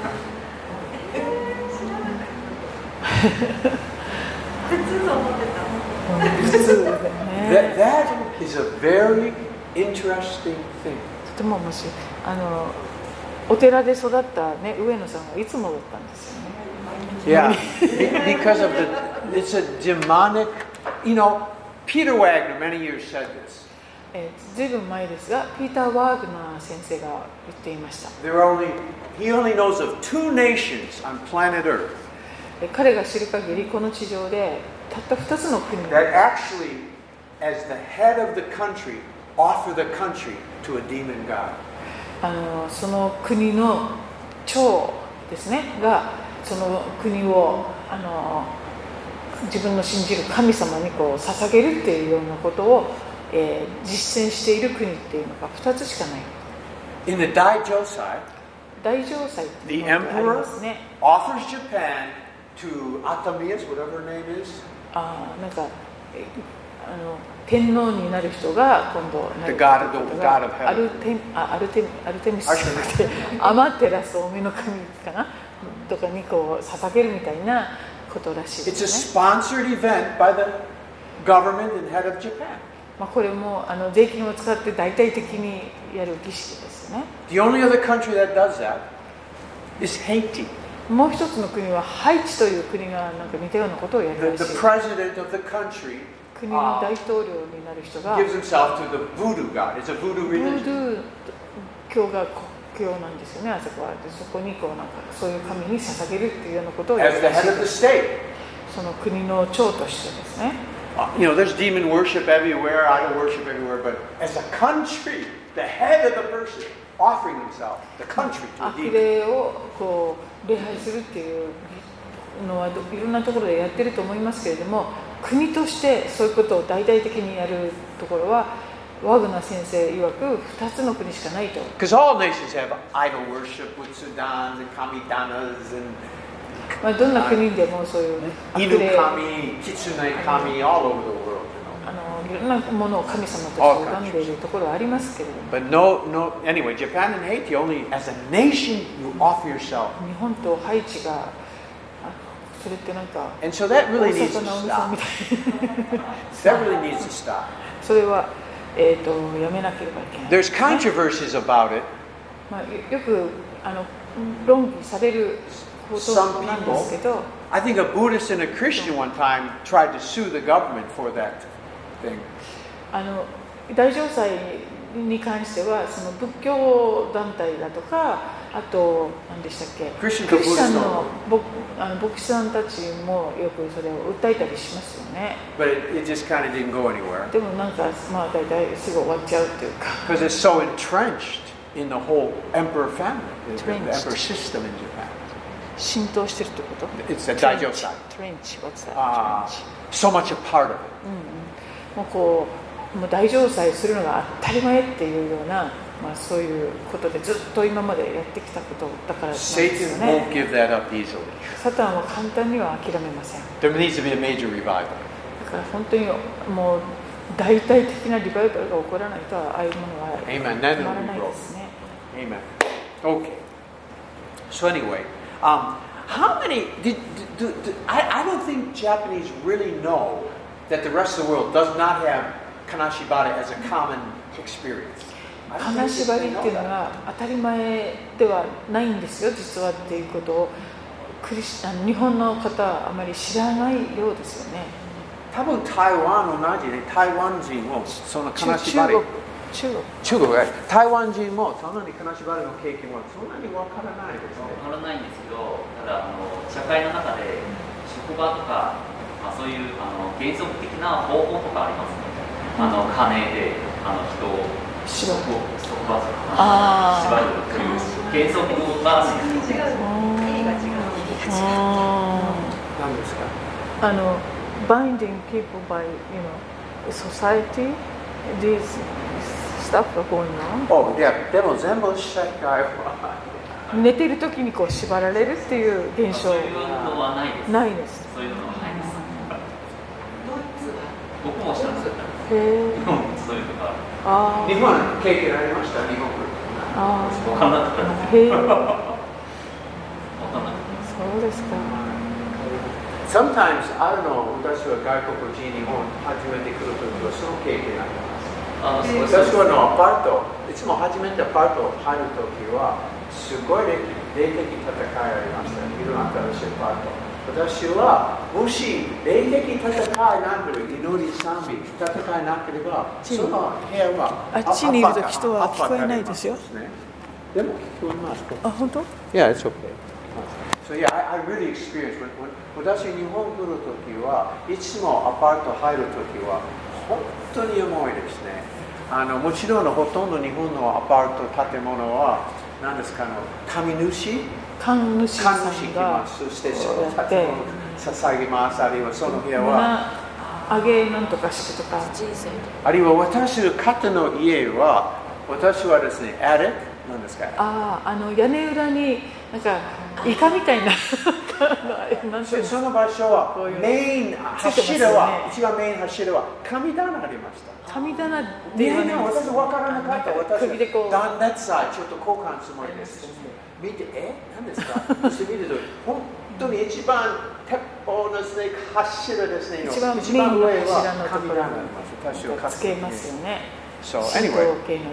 普通と思ってた。 普通だね。 That is a very interesting thing. とても面白い。あのお寺で育ったね上野さんがいつもだったんですよね。 Yeah, because of the, it's a demonic, you know, Peter Wagner many years said this. えー、ずいぶん前ですが、ピーター・ワーグナー先生が言っていました。 There are only, he only knows of two nations on planet Earth. 彼が知る限りこの地上でたった二つの国 That actually, as the head of the country, offer the country to a demon god. あのその国の長ですねがその国をあの自分の信じる神様にこう捧げるっていうようなことを、えー、実践している国っていうのがふたつしかない。 In the Daijosai, 大城祭っていう the のがありま emperor すね。 offers Japan to Atamias, whatever her name is. あなんかあの天皇になる人が今度なる人がアルテあアルテアルテミスじゃなくてアマテラス大女の神かなとかにこう捧げるみたいなことらしいですね。 It's a sponsored event by the government and head of Japan. まあこれもあの税金を使って大々的にやる儀式ですね。 The only other country that does that is Haiti. もう一つの国はハイチという国がなんか似たようなことをやるらし The, い。 the president of the country 国の大統領になる人が gives himself to the voodoo god. It's a voodoo ブー religion. ドゥー教が国教なんですよね、あそこは。でそこにこうなんかそういう神に捧げるっていうようなことをや As る the らし head い of で the す。 state. その国の長としてですね。 Uh, you know, there's demon worship everywhere, idol worship everywhere, but as a country, the head of the person offering himself, the country to a 悪 demon. 霊をこう礼拝するっていうのはどいろんなところでやってると思いますけれども、国としてそういうことを大々的にやるところはワグナー先生曰くふたつの国しかないと。 Because all nations have idol worship with Sudans and Kamidanas and まあ、どんな国でもそういう悪 Inu 霊、 kami, Kitsune kami, all over the world. あのいろんなものを神様として拝んでいるところはありますけれども、 But no, no. Anyway, Japan and Haiti only as a nation you offer yourself, 日本とハイチがあそれってなんか and so that 大 really needs to 阪直美さん stop. みたいな That really needs to stop. それは、えー、とやめなければいけない。 There's controversies about it. まあ、よよくあの論議されることなんですけど、 I think a Buddhist and a Christian one time tried to sue the government for that thing. あの大乗祭に関してはその仏教団体だとか、あと何でしたっけ、 クリスチャンクリスチャンの牧あの牧師さんたちもよくそれを訴えたりしますよね。 But it, it just kind of didn't go anywhere でもなんかまあ大体すぐ終わっちゃうっていうか。 because it's so entrenched in the whole emperor family, the, the Entrenched. emperor system in Japan. 浸透してるってこと？ It's a daijosai. トレンチ、what's that? Uh, トレンチ。 so much a part of it. もうこう、もう大乗祭するのが当たり前っていうような、まあそういうことでずっと今までやってきたことだからなんですよ Satan ね。 won't give that up easily. サタンは簡単には諦めません。 There needs to be a major revival. だから本当にもう大々的なリバイバルが起こらないとああいうものは Amen. 止まらないですね。 Amen. Okay. So anyway, um, how many did, do, do, I, I don't think Japanese really know that the rest of the world does not have Kanashibara as a common experience. 金縛りっていうのが当たり前ではないんですよ、実はっていうことをクリスあの日本の方はあまり知らないようですよね。 多分台湾同じで台湾人もその金縛り中国中国中国台湾人もそんなに金縛りの経験はそんなにわからないですね。 わからないんですけど、ただあの社会の中で職場とか、まあ、そういうあの原則的な方法とかありますね。あの金であの人を縛る束縛あ縛るという原則があるんですよ。 違う意味が違う意味が違う何ですか？ あの binding people by you know society these stuff are going on おいやでも全部社会は寝てる時にこう縛られるっていう現象そういうのはないです。 ないです。 そういうのはないです。 ドイツは僕も知らなかった。 へえ日本もそういうのがあ日本経験ありました日本あ分かんなかったです。 へえ分かんなかったです。 そうですか。 Sometimes, I don't know, 私は外国人日本初めて来るときはその経験あります。 あそうです私はのアパート、いつも初めてアパート入るときは、すごい霊的戦いありました。いろんな新しいアパート。私は、もし霊的戦いなければ、祈り賛美、戦いなければ、その部屋は、 あっちにいると人は聞こえないですよ。 でも聞こえます。 あ、本当？ Yeah, it's okay. So yeah, I, I really experienced when, when 私日本来るときはいつもアパート入るときは本当に重いですね。あのもちろんほとんど日本のアパート建物は何ですかの神主神主さ神主んが来ます。そしてその建物を捧げます。あるいはその部屋はあげなんとか式とかあるいは私の方の家は私はですね、アティックなんですか？ ああ、あの屋根裏になんかイカみたいなその場所はメイン柱は、一番メイン柱は神棚ありました。 神棚ではね、私分からなかった。私は断熱材ちょっと交換するつもりです。見て、え、何ですか？そして見ると、本当に一番鉄砲ですね、柱ですね。 一番メインの柱のところにつけますよね。 So anyway,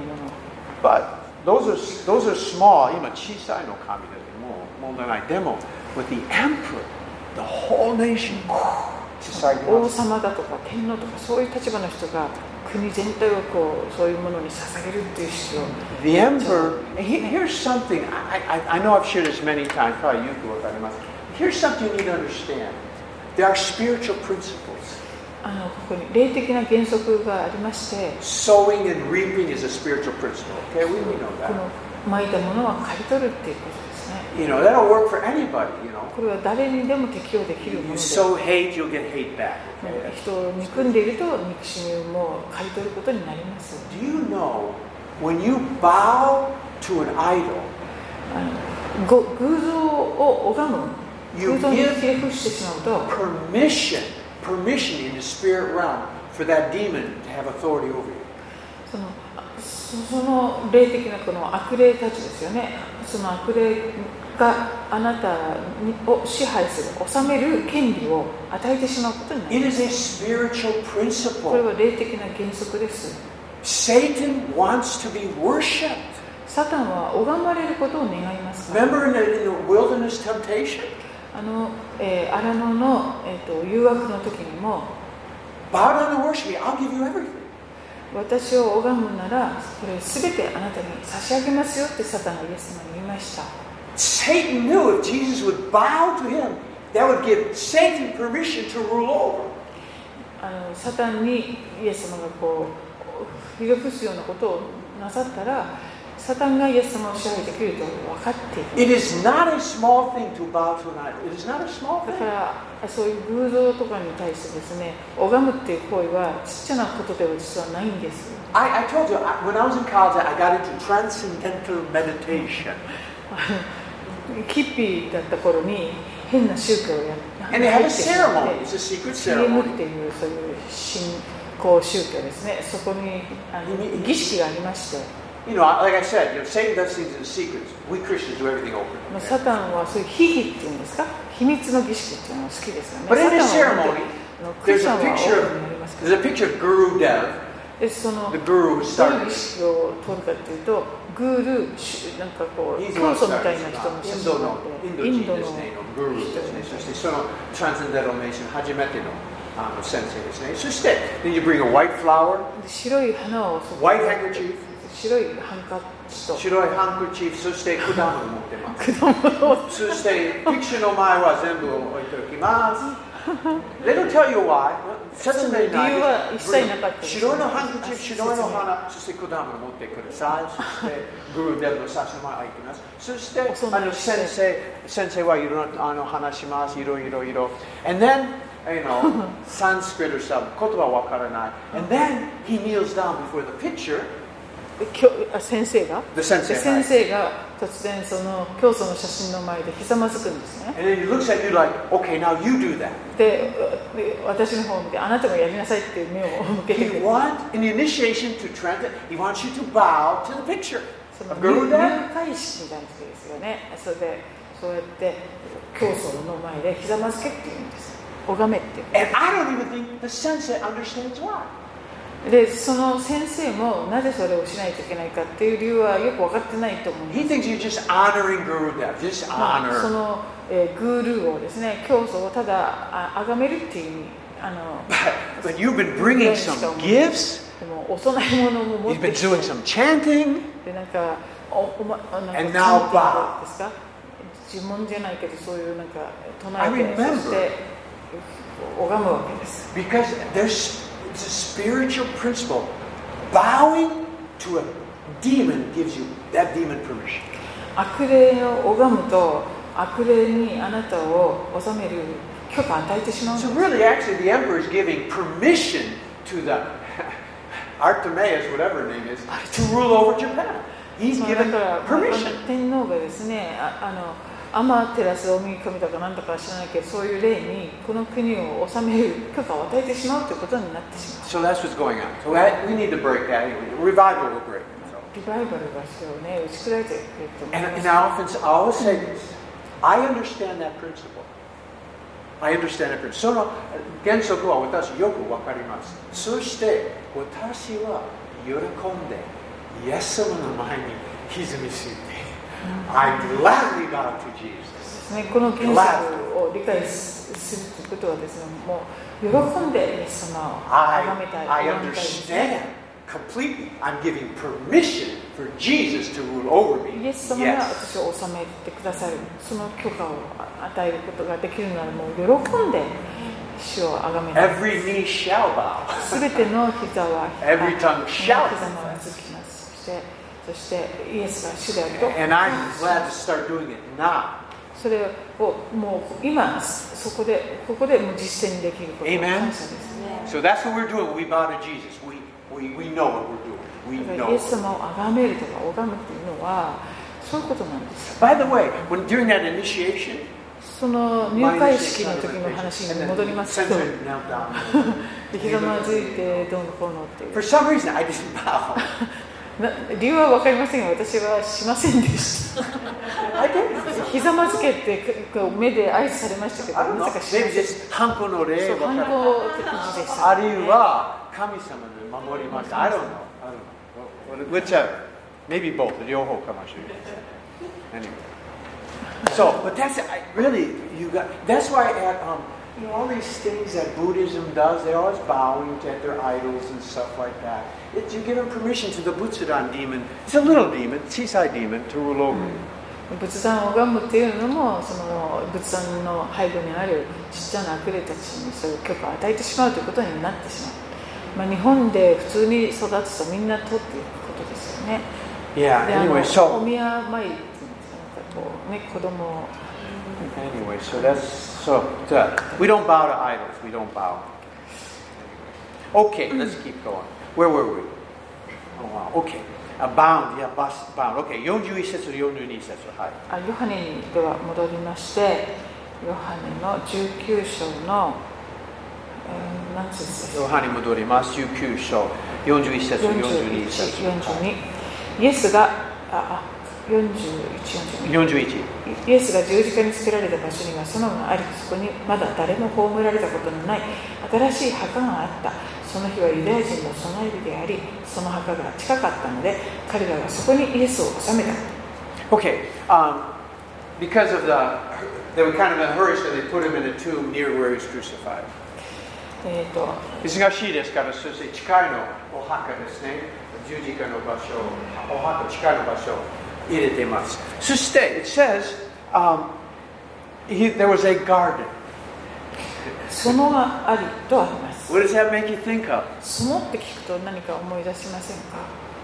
but those are those are small. 今小さいの神でも問題ない。でも with the emperor, the whole nation. 王様だとか天皇とかそういう立場の人が国全体をこうそういうものに捧げるっていう必要。 The emperor. Here's something. I I I know I've shared this many times. probablyよくわかります。Here's something you need to understand. There are spiritual principles. あのここに霊的な原則がありまして。 Sowing and reaping is a spiritual principle. Okay, we know that. この蒔いたものは刈り取るっていうことですね。 You know that'll work for anybody. You know. これは誰にでも適用できるもので。 You sow hate, you'll get hate back. Okay? 人を憎んでいると憎しみも刈り取ることになります。 Do you know when you bow to an idol? あのご偶像を拝む。偶像にひれ伏してしまうと。 Permission, permission in the spirit realm for that demon to have authority over you. そのその霊的なこの悪霊たちですよね。その悪霊があなたを支配する、治める権利を与えてしまうことになります。 It is a spiritual principle. これは霊的な原則です。 Satan wants to be worshipped. サタンは拝まれることを願いますから。 Remember in the, in the wilderness temptation? あの、えー、荒野の、えー、と誘惑の時にも Bow down and worship me, I'll give you everything. 私を拝むならこれすべてあなたに差し上げますよってサタンがイエス様に言いました。 Satan knew if Jesus would bow to him, that would give Satan permission to rule over. あのサタンにイエス様がこうひれ伏すようなことをなさったらサタンがイエス様を支配できると分かっている。 It is not a small thing to bow to an idol. It is not a small thing. だからそういう偶像とかに対してですね、拝むっていう行為はちっちゃなことでは実はないんです。 I, I told you, when I was in college, I got into transcendental meditation. キッピーだった頃に変な宗教をやって、 And they have a ceremony. It's a secret ceremony. っていうそういう信仰宗教ですね。そこにあの儀式がありまして。 You know, like I said, you know, Satan does things in secrets. We Christians do everything open. サタンはそういう秘儀っていうんですか、秘密の儀式っていうのが好きですよね。 But in this ceremony, クリ there's スチャン a は picture オープンになりますけ of ど、 there's a picture of Guru Dev, でその the ど guru who ういう started 儀 it. 式を取るかっていうと、グールなんかこう He's 教 the one 祖 who みたい started な it. 人の写イン真ドのがあって、 インドインドの人ですね、のグルーですね。そしてその Transcendental Nation 初めてのあの先生ですね。そして then you bring a white flower, 白い花をそこ white handkerchief, 白いハンカチと白いハンカチ、そして果物持ってます。そしてピクチャーの前は全部置いておきます。They don't tell you why. 説明ないです。白いのハンカチ、白いの花、そして果物持ってください。そしてグルーデブの差し前開いてます。そしてあの先生、先生はいろいろあの話します。いろいろいろ。And then, you know, Sanskrit or some 言葉わからない。And then he kneels down before the picture. 先生が先生、 先生が突然その教祖の写真の前でひざまずくんですね。 And then he looks at you like, okay, now you do that. で、私の方を見てあなたがやりなさいっていう目を向けてく He る。 wants in the initiation to transit. He wants you to bow to the picture その of 入 Guru Dev. 会式みたいな時ですよね。それでそうやって教祖の前でひざまずけっていうんです。拝めっていう。 And I don't even think the sensei understands why. でその先生もなぜそれをしないといけないかっていう理由はよく分かってないと思うんです。 He thinks you're just honoring Guru Dev, just まあ、そ honor. の、えー、グールーをですね、教祖をただあ崇めるっていう意味。あの But, but you've been bringing some gifts. でもお供え物も持 You've って been きて doing some chanting. でなんかおおまなんか And now キャンティングですか、呪文じゃないけどそういうなんか唱 I えて remember. そして拝むわけです。 Because there's it's a spiritual principle. Bowing to a demon gives you that demon permission. 悪霊を拝むと悪霊にあなたを治める許可を与えてしまうんです。 So really, actually, the emperor is giving permission to the Artemis, whatever her name is, to rule over Japan. He's だ given から permission. 天皇がですね、ああのアマテラス大神とかなんだか知らないけど、そういう霊にこの国を治める許可を与えてしまうということになってしまう。 So that's what's going on. So we need to break that. Revival will break. リバイバルが必要ね、打ち砕いてくれると思い And, ます。 and I often I always say this. I understand that principle. I understand that principle. その原則は私よくわかります。そして私は喜んでイエス様の前に歪みついて、I gladly bow to Jesus. ね、この原則を理解するということはですね、もう喜んでイエス様を崇めたい。 I, I understand completely. I'm giving permission for Jesus to rule over me. イエス様が私を治めてくださる、その許可を与えることができるなら、もう喜んで主を崇めたい。 Every knee shall bow. すべての膝は Every tongue shall 膝もうずきます。そしてそしてイエスが主であると。 And I'm glad to start doing it now. それをもう今そこでここでもう実践できることを感謝ですね。 So that's what we're doing. We bow to Jesus. We we we know what we're doing. We イ know. エス様を崇めるとか拝むっていうのはそういうことなんです。 By the way, when during that initiation, その入会式の時の話に戻りますけど、ひざまずいてどうのこうのっていう。 For some reason, I didn't bow. な理由は分かりませんが、私はしませんでした。ひざまずけって目で挨拶されましたけど、まさかしません。 Maybe just 反抗の例そう、反は抗的でした。 あるいは神様に守りました。I don't know. I don't know. Whichever. Maybe both. 両方かもしれない。Anyway. So, but that's I, really you got. That's why at um, you know all these things that Buddhism does, they're always bowing to their idols and stuff like that. It's, you give them permission to the Butsudan demon. It's a little demon, Chisai demon, to rule over you. 仏壇を拝むっていうのも、その仏壇の背後にあるちっちゃな悪霊たちにそういう許可を与えてしまうということになってしまう。まあ、日本で普通に育つとみんな取っていくことですよね。 Yeah. で、あの Anyway, so お宮参りっていうんですか、なんかこうね、子供を anyway, so that's so. That, we don't bow to idols. We don't bow. Okay, let's keep going. Where were we? Oh wow. Okay. Uh, bound. Yeah, bus, bound. Okay. よんじゅういち節とよんじゅうに節。はい。 あヨハネにでは戻りまして、ヨハネのじゅうきゅう章の、えー、何節ですか。 ヨハネに戻ります。じゅうきゅう章よんじゅういち節とよんじゅうに節。 よんじゅうに。イエスがああよんじゅういち、よんじゅうに。 よんじゅういち。 イエスが十字架につけられた場所には園があり、そこにまだ誰も葬られたことのない新しい墓があった。その日はユダヤ人の備え日であり、その墓が近かったので、彼らはそこにイエスを納めた。 Okay, um, because of the, they were kind of in a hurry, so they put him in a tomb near where he was crucified. えーと、 忙しいですから、そして近いのお墓ですね。十字架の場所、お墓近いの場所を入れています。そして、it says, um, he, there was a garden. 園がありとあります。 What does that make you think of? 園って聞くと何か思い出しませんか。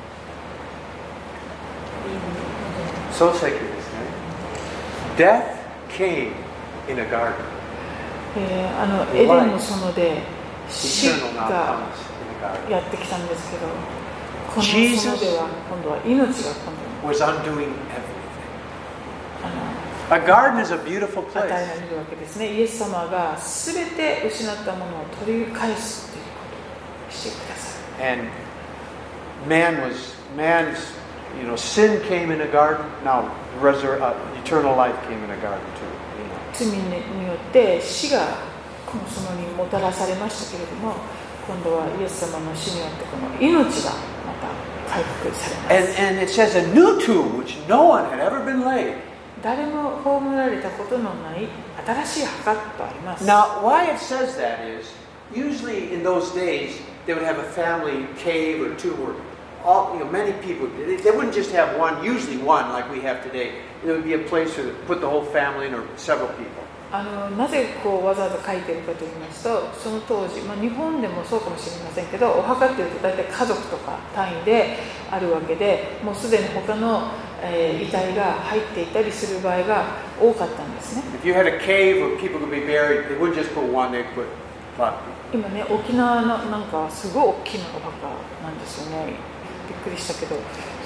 So sacred ですね。Death came in a garden. えー、あのエデンの園で死 Eternal が now comes in a garden. やってきたんですけど、この園では今度は命が今度 Was undoing everything. あの A garden is a beautiful 与 place. えられるわけですね。イエス様がすべて失ったものを取り返すということをしてください。 And man was, man's, you know, sin came in a garden. Now, resur- uh, eternal life came in a garden too. You know. 罪によって死がこの園にもたらされましたけれども、今度はイエス様の死によってこの命がまた回復されます。 And, and it says a new tomb, which no one had ever been laid. 誰も葬られたことのない新しい墓とあります。 Now, why it says that is, usually in those days, they would have a family cave or tomb where all, you know, many people, they, they wouldn't just have one, usually one like we have today. There would be a place to put the whole family in or several people. あのなぜこうわざわざ書いてるかと言いますと、その当時、まあ、日本でもそうかもしれませんけど、お墓っていうと大体家族とか単位であるわけで、もうすでに他の、えー、遺体が入っていたりする場合が多かったんですね。 If you had a cave where people could be buried, they wouldn't just put one, they'd put a lot. 今ね、沖縄のなんかすごい大きなお墓なんですよね。びっくりしたけど、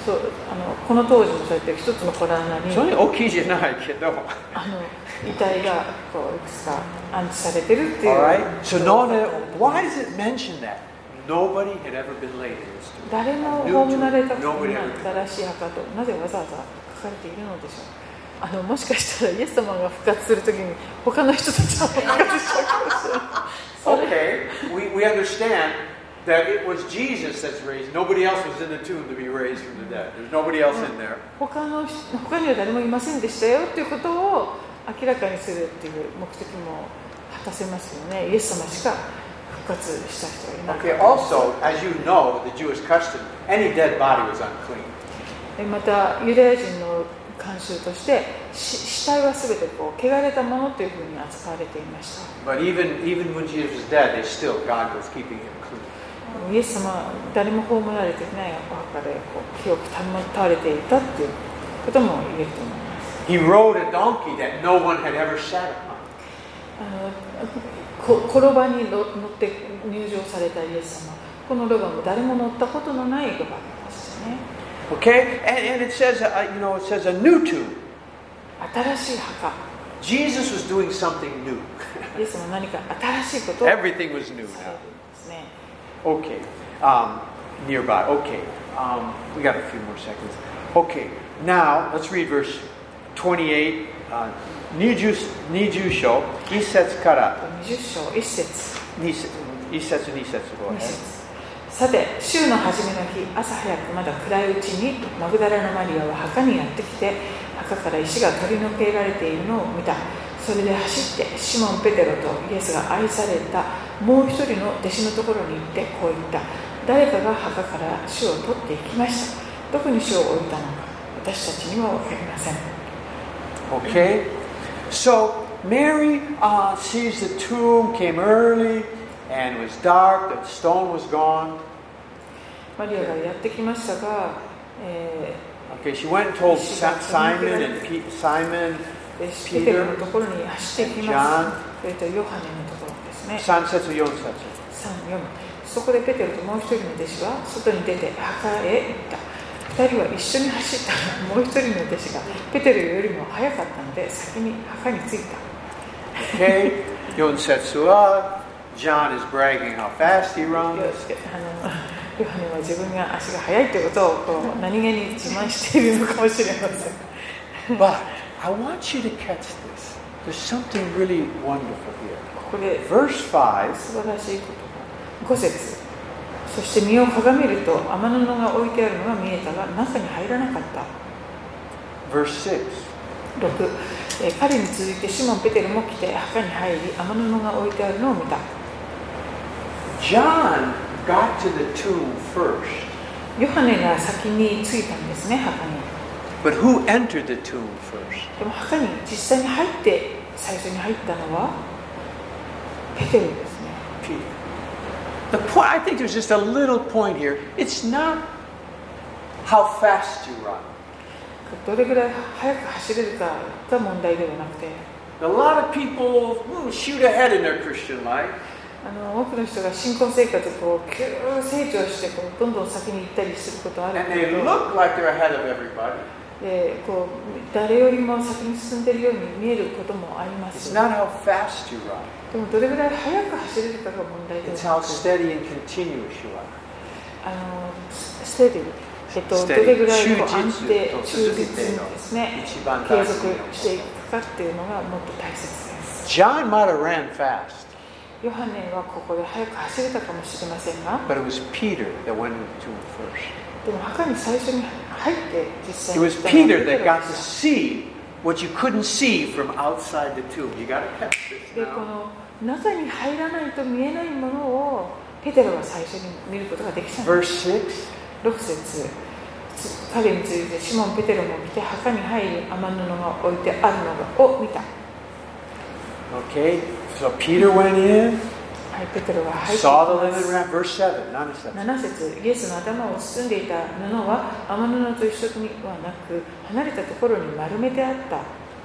そうあのこの当時もそうやって一つの洞穴にそんなに大きいじゃないけど。 あの遺体がこういくつか安置されてるっていう。 Alright? So no, why does it mention that? Nobody had ever been laid in this tomb. 誰も葬られたことのない新しい墓となぜわざわざ書かれているのでしょう。あのもしかしたらイエス様が復活するときに他の人たちは復活しちゃうかもしれない。 Okay, we, we understand that it was Jesus that's raised. Nobody else was in the tomb to be raised from the dead. There's nobody else in there. 他の他には誰もいませんでしたよっていうことを明らかにするっていう目的も果たせますよね。イエス様しか復活した人がいない。 Okay, also, as you know, the Jewish custom, any dead body was unclean. またユダヤ人の慣習として死体はすべてこう汚れたものというふうに扱われていました。 But even even when Jesus was dead, they still God was keeping him clean. イエス様は誰も葬られていないお墓でこう清く保たれていたということも言えると思います。 He rode a donkey that no one had ever sat upon. あの転ばに乗って入場されたイエス様、このロバも誰も乗ったことのないロバでしたね。 Okay, and, and it says, uh, you know, it says a new tomb. 新しい墓。 Jesus was doing something new. イエスも何か新しいことを Everything was new now. ですね。 Okay, um, nearby. Okay, um, we got a few more seconds. Okay, now let's read verse twenty-eight. Uh, にじゅう章、一節から。 にじゅう章、一節。 二節、一節、二節。 二節。さて、週の初めの日、朝早くまだ暗いうちにマグダラのマリアは墓にやってきて、墓から石が取り除けられているのを見た。それで走ってシモン・ペテロとイエスが愛されたもう一人の弟子のところに行ってこう言った。誰かが墓から主を取っていきました。どこに主を置いたのか私たちには分かりません。 Okay, so Mary uh, sees the tomb came early and it was dark, the stone was gone. マリアがやってきましたが、えー、 Okay, she went and told Simon and P- Simon, ペテロのところに走っていきます。それとヨハネのところですね。 さん節よん節。 さん、よん。そこでペテロともう一人の弟子は外に出て墓へ行った。二人は一緒に走ったらもう一人の弟子がペテロよりも早かったので先に墓に着いた。 Okay, よん節は John is bragging how fast he runs. あのヨハネは自分が足が速いということをこう何気に自慢しているのかもしれません。 But I want you to catch this. There's something really wonderful here. ここで Verse five. 素晴らしいことがご節。そして身をかがめると雨布が置いてあるのが見えたが中に入らなかった。 Verse six. ろく、えー、彼に続いてシモン・ペテロも来て墓に入り雨布が置いてあるのを見た。 John got to the tomb first. ヨハネが先に着いたんですね、墓に。 But who entered the tomb first? でも墓に実際に入って最初に入ったのはペテロですね。 Peter. The point, I think there's just a little point here. It's not how fast you run. どれぐらい速く走れるかが問題ではなくて、 A lot of people hmm, shoot ahead in their Christian life. あの多くの人が信仰生活をこう急成長してこうどんどん先に行ったりすることある And け they ど、 look like they're ahead of everybody. でこう誰よりも先に進んでいるように見えることもありま It's す。 not how fast you run. でもどれぐらい速く走れるかが問題で It's は how なく、 steady and continuous you are. あのステディ、えっと、どれぐらいこう安定、忠実にですね、継続していくかっていうのがもっと大切です。 John might have ran fast, ヨハネはここで速く走れたかもしれませんが、 but it was Peter that went into it first. でも墓に最初に入って実 It 際に was 行ったのは Peter ペテ that ロ got で to した。 see what you couldn't see from outside the tomb. You got to catch this でこ now. の中に入らないと見えないものをペテロは最初に見ることができたんです。 Verse six. ろく節、彼についてシモン・ペテロも来て墓に入り雨布が置いてあるのを見た。 Okay, so Peter went in, はい、ペテロが入ってき saw the ま linen す。 wrap. Verse seven. None of that. なな節、イエスの頭を包んでいた布は雨布と一緒にはなく離れたところに丸めてあった。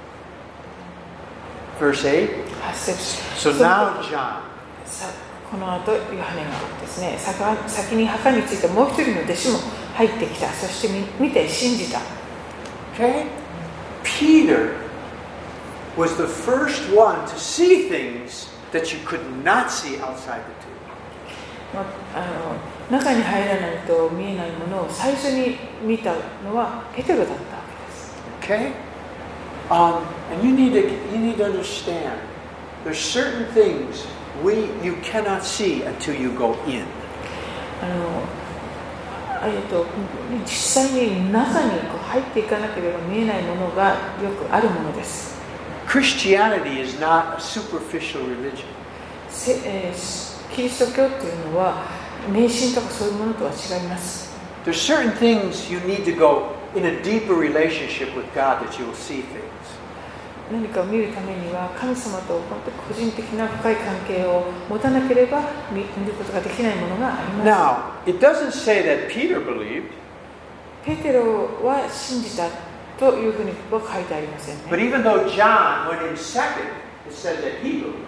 Verse eight. はち節、 So now John. さこの後ヨハネがですね、先に墓についたもう一人の弟子も入ってきた。そして見て信じた。 Okay? Peter was the first one to see things that you could not see outside the tomb. まあの中に入らないと見えないものを最初に見たのはペテロだったわけです。 Okay? Um, and you need to you need to understand. There's certain things we you cannot see until you go in. あのえっと実際に中にこう入っていかなければ見えないものがよくあるものです。 Christianity is not a superficial religion. せえー、キリスト教っていうのは迷信とかそういうものとは違います。 There's certain things you need to go in a deeper relationship with God that you will see things. 何かを見るためには神様と本当に個人的な深い関係を持たなければ見ることができないものがあります。 Now, it doesn't say that Peter believed. ペテロは信じたというふうには書いてありませんね。 But even though John went in second, it says that he believed.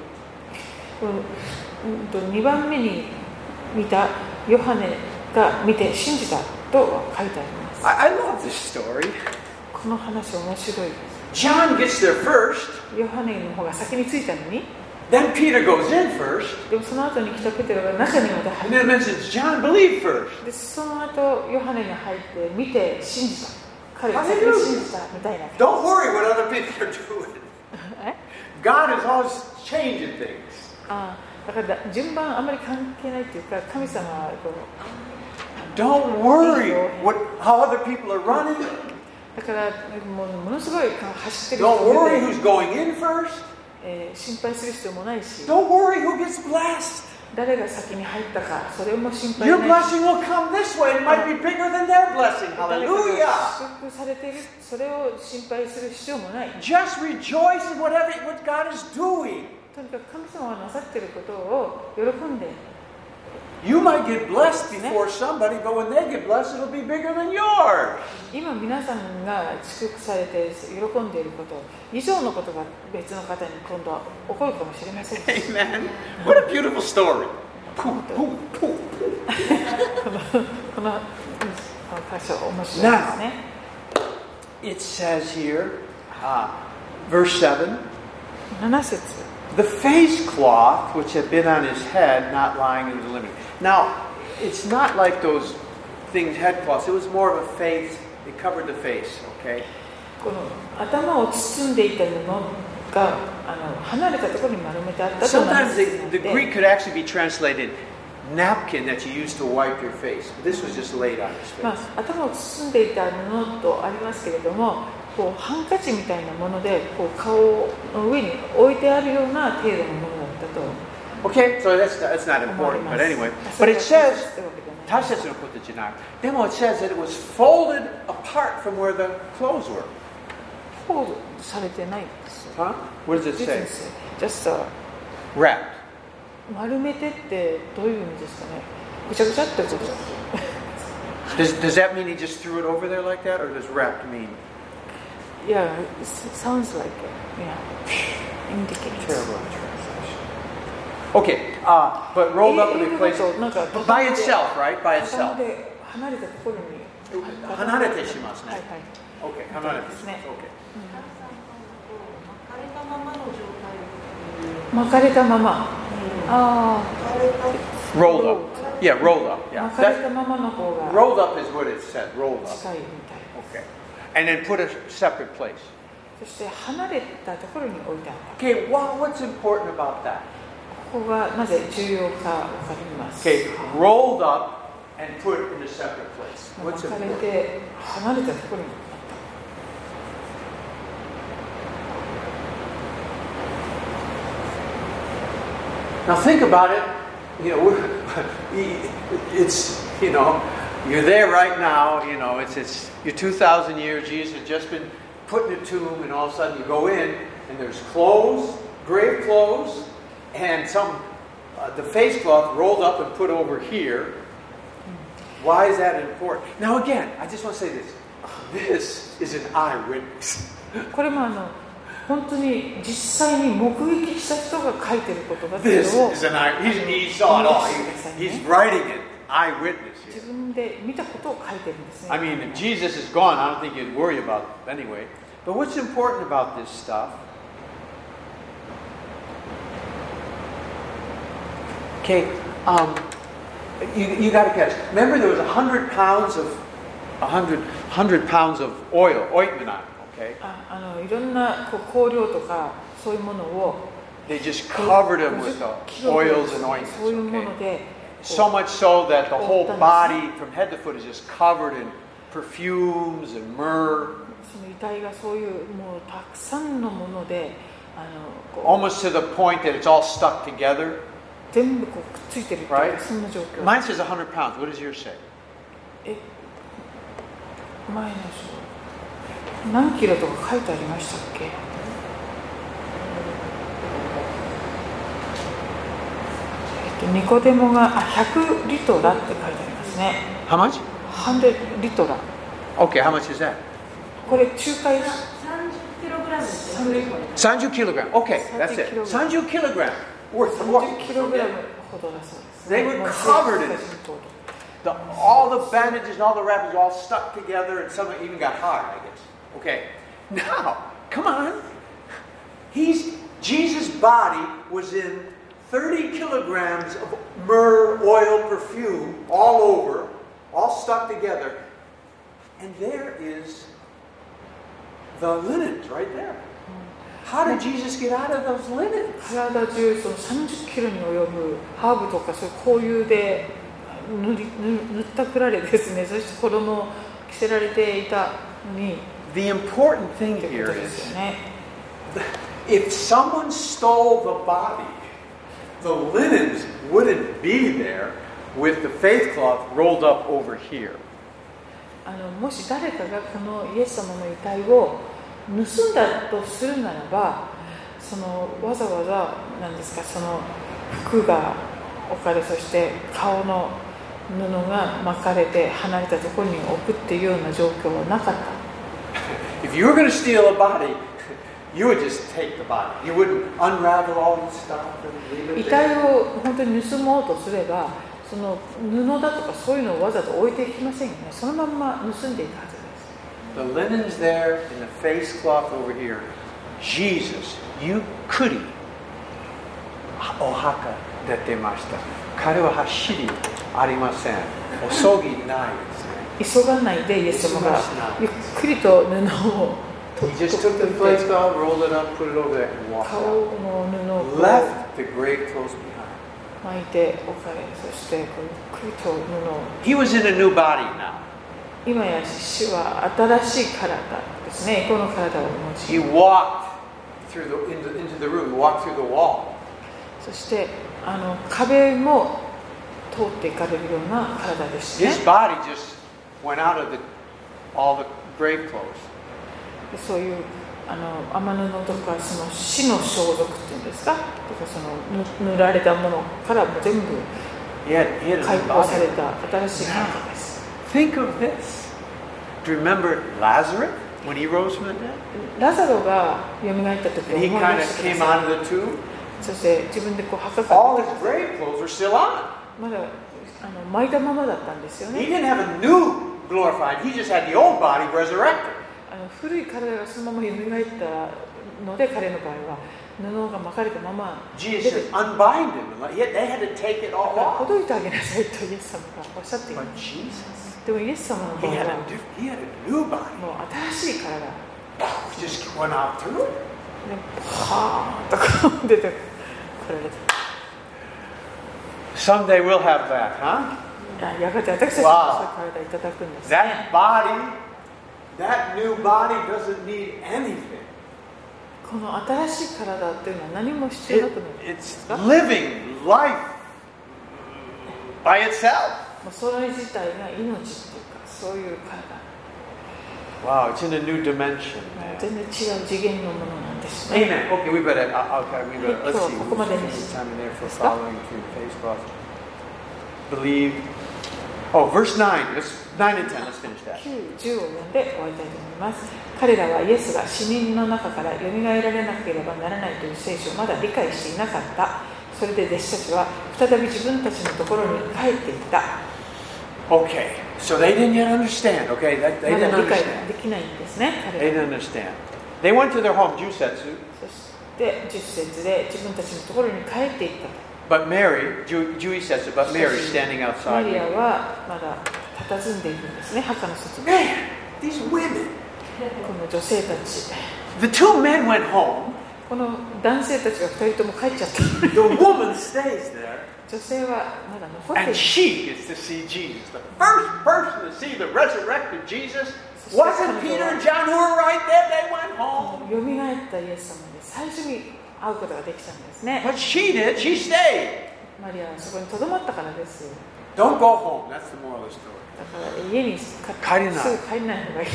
にばんめに見たヨハネが見て信じたと書いてあります。 I, I love this story. この話面白いです。 John gets there first. ヨハネの方が先に着いたのに。 Then Peter goes in first. でもその後に来たペテロが中にまで入って。 And then it says John believed first. でその後ヨハネに入って見て信じた。彼が先に信じたみたいな。 Don't worry what other people are doing. God is always changing things. ああ、だから順番あまり関係ないっていうか、神様はこう。 Don't worry what how other people are running. だからもうものすごい走ってる Don't worry who's going in first. えー、心配する必要もないし。 Don't worry who gets blessed. 誰が先に入ったか、それも心配ない。 Your blessing will come this way. It might be bigger than their blessing. Hallelujah. 祝福されている、それを心配する必要もない。 Just rejoice in whatever what God is doing. とにかく神様がなさっていることを喜んで。 You might get blessed before somebody, but when they get blessed, it'll be bigger than yours. 今皆さんが祝福されて喜んでいること以上のことが別の方に今度は起こるかもしれません。 Amen. What a beautiful story. このこの箇所面白いですね。 It says here, uh, verse seven. なな節。 The face cloth which had been on his head, not lying in the linen. Now, it's not like those things, head cloths. It was more of a face. It covered the face. Okay. この頭を包んでいた布があの離れたところに丸めてあったと。 Sometimes the, the Greek could actually be translated napkin that you use to wipe your face. But this was just laid on his face. まあ、頭を包んでいた布とありますけれども。こうハンカチみたいなものでこう顔の上に置いてあるような程度のものだったと。 Okay, so that's that's not important, but anyway. But it says, 大切なことじゃない。でも it says that it was folded apart from where the clothes were. フォールされてないです。 Huh? What does it say? Just a wrapped. 丸めてってどういう意味ですかね。ぐちゃぐちゃってこと。 Does does that mean he just threw it over there like that, or does wrapped mean? Yeah, it sounds like it. Yeah, indicates. Terrible translation. Okay, uh, but rolled up in a place by itself, right? By itself. 離れたところに。 離れてしますね。 はいはい。 Okay, 離れてします。Okay. 巻かれたまま。ああ。Rolled up. Yeah, rolled up. Yeah. 巻かれたままの方が。 Rolled up is what it said. Rolled up. 近いみたい。 Okay. And then put a separate place. そして離れたところに置いてあった。 Okay, well, what's important about that? ここがなぜ重要かわかります。 Okay, rolled up and put in a separate place. What's 巻かれ important? て離れたところに。 Now think about it. You know, we're, it's you know, you're there right now. You know, it's it's you're two thousand years. Jesus has just been put in a tomb, and all of a sudden you go in, and there's clothes, grave clothes, and some uh, the face cloth rolled up and put over here. Why is that important? Now again, I just want to say this. This is an eyewitness. これもあの本当に実際に目撃した人が書いてることだっていうのを。 This is an eye. He, he saw it all. He, he's writing it eyewitness 自 here. 分で見たことを書いてるんですね。 I mean, if Jesus is gone, I don't think you'd worry about it anyway. But what's important about this stuff? Okay, um, you you got to catch. Remember, there was a hundred pounds of a hundred hundred pounds of oil, ointment on it. Okay, ああのいろんなこう香料とかそういうものを they just covered him with the oils and ointments. そういうも Okay, ので so much so that the whole body, from head to foot, is just covered in perfumes and myrrh. その遺体がそういうもうたくさんのものであのこ Almost to the point that it's all stuck together. う全部こうくっついてるっていう Right? そんな状況。 Mine says a hundred pounds. What does yours say? え前の書何キロとか書いてありましたっけ？えっとニコデモがあひゃくリトラって書いてありますね。 How much? ひゃくリトラ。 Okay, how much is that? これ仲介さんじゅっキログラムですさんじゅっ thirty kilogram. Okay, that's it. thirty kilogram worth of what? キログラムほどだそうです、 They were covered in it. The, all the bandages and all the wrappings all stuck together, and some of it even got hard, I guess. Okay, now, come on. He's Jesus' body was in thirty kilograms of myrrh, oil, perfume, all over, all stuck together. And there is the linens right there. How did Jesus get out of those linens? 体中そのさんじゅっキロに及ぶハーブとかそういう香油で塗り塗ったくられですね。そして衣を着せられていたのに The important thing という here ことです is よね。 if someone stole the body, the linens wouldn't be there with the faith cloth rolled up over here. あのもし誰かがこのイエス様の遺体を盗んだとするならば、そのわざわざなんですかその服が置かれ、そして顔の布が巻かれて離れたところに置くっていうような状況はなかった。 If you were going to steal a body, you would just take the body. You wouldn't unravel all the stuff and leave 遺 it 体 there. を本当に盗もうとすれば、その布だとかそういうのをわざと置いていきませんよね。そのまんま盗んでいたはずです。 The linens there and the face cloth over here. Jesus, you could Ohaka dettemashita. 彼は走りありません。急ぎないですね。 急がないでイエス様がゆっくりと布を He just took the face cloth, rolled it up, put it over there, and walked 顔 out. の布をこう Left the grave clothes behind. 巻いておかれ、そしてこうゆっくりと布を He was in a new body now. 今や主は新しい体ですね。この体をお持ち He walked through the into, into the room. He walked through the wall. そしてあの壁も通っていかれるような体ですね。 His body just went out of the all the grave clothes. そういうあの天布とかその死の装束っていうんですか、とかその塗られたものからも全部 He had, he had a 解 new 放され body. た新しい体です。 Think of this. Do you remember Lazarus when he rose from the dead? ラザロが蘇った時を And 思 he い kind 出 of して came ください。 out of the tomb. そして自分でこう墓から All 出 his てきて grave clothes were still on. まだあの巻いたままだったんですよ He ね。 didn't have a new glorified. He just had the old body resurrected. あの古い体がそのまま蘇ったので、彼の場合は布が巻かれたまま出て Jesus said, unbind him. And let- They had to take it all ほ off. どいてあげなさいとイエス様がおっしゃっていま But す。 Jesus, でもイエス様の he 場合 had は a, diff- he had a new body. もう新しい体で He just went out through it. パーンとこう出てこられて、 Someday we'll have that, huh? やがて私たちもそういう体いただくんですね。 That body, that new body doesn't need anything. この新しい体っていうのは何も必要 It, なくなるんで it's すか？ living life by itself. もうそれ自体が命っていうか、そういう体、 Wow, it's in a new dimension. もう Man. 全然違う次元のものなんですね。 Amen. Okay, we better. uh, Okay, we better. Let's see. We'll spend some time in there for following through the face cross. Believe. Oh, verse nine. Let's nine and ten. Let's finish that. きゅう、じゅうを読んで終わりたいと思います。彼らはイエスが死人の中から蘇られなければならないという聖書をまだ理解していなかった。それで弟子たちは再び自分たちのところに帰っていった。 Okay, so they didn't yet understand. Okay, that, they ま didn't だ理解 understand. できないんですね、 They 彼ら。 didn't understand. They went to their home, Jusetsu, そしてじゅっ節で自分たちのところに帰っていったと。 but Mary, Ju- Juisetsu, but Mary standing マ outside. リア weeping. はまだ佇んでいるんですね、墓の外に。 Man, these women. この女性たち、 The two men went home. この男性たちがふたりとも帰っちゃった。 The woman stays there. 女性はまだ残ってい And る。 she gets to see Jesus. The first person to see the resurrected Jesus wasn't Peter and John who were right there. They went home. よみがえったイエス様で最初に会うことができたんですね。 But she did. She stayed. マリアはそこにとどまったからです。 Don't go home. That's the moral of the story. だから家にすぐ帰れない帰らない方がいい。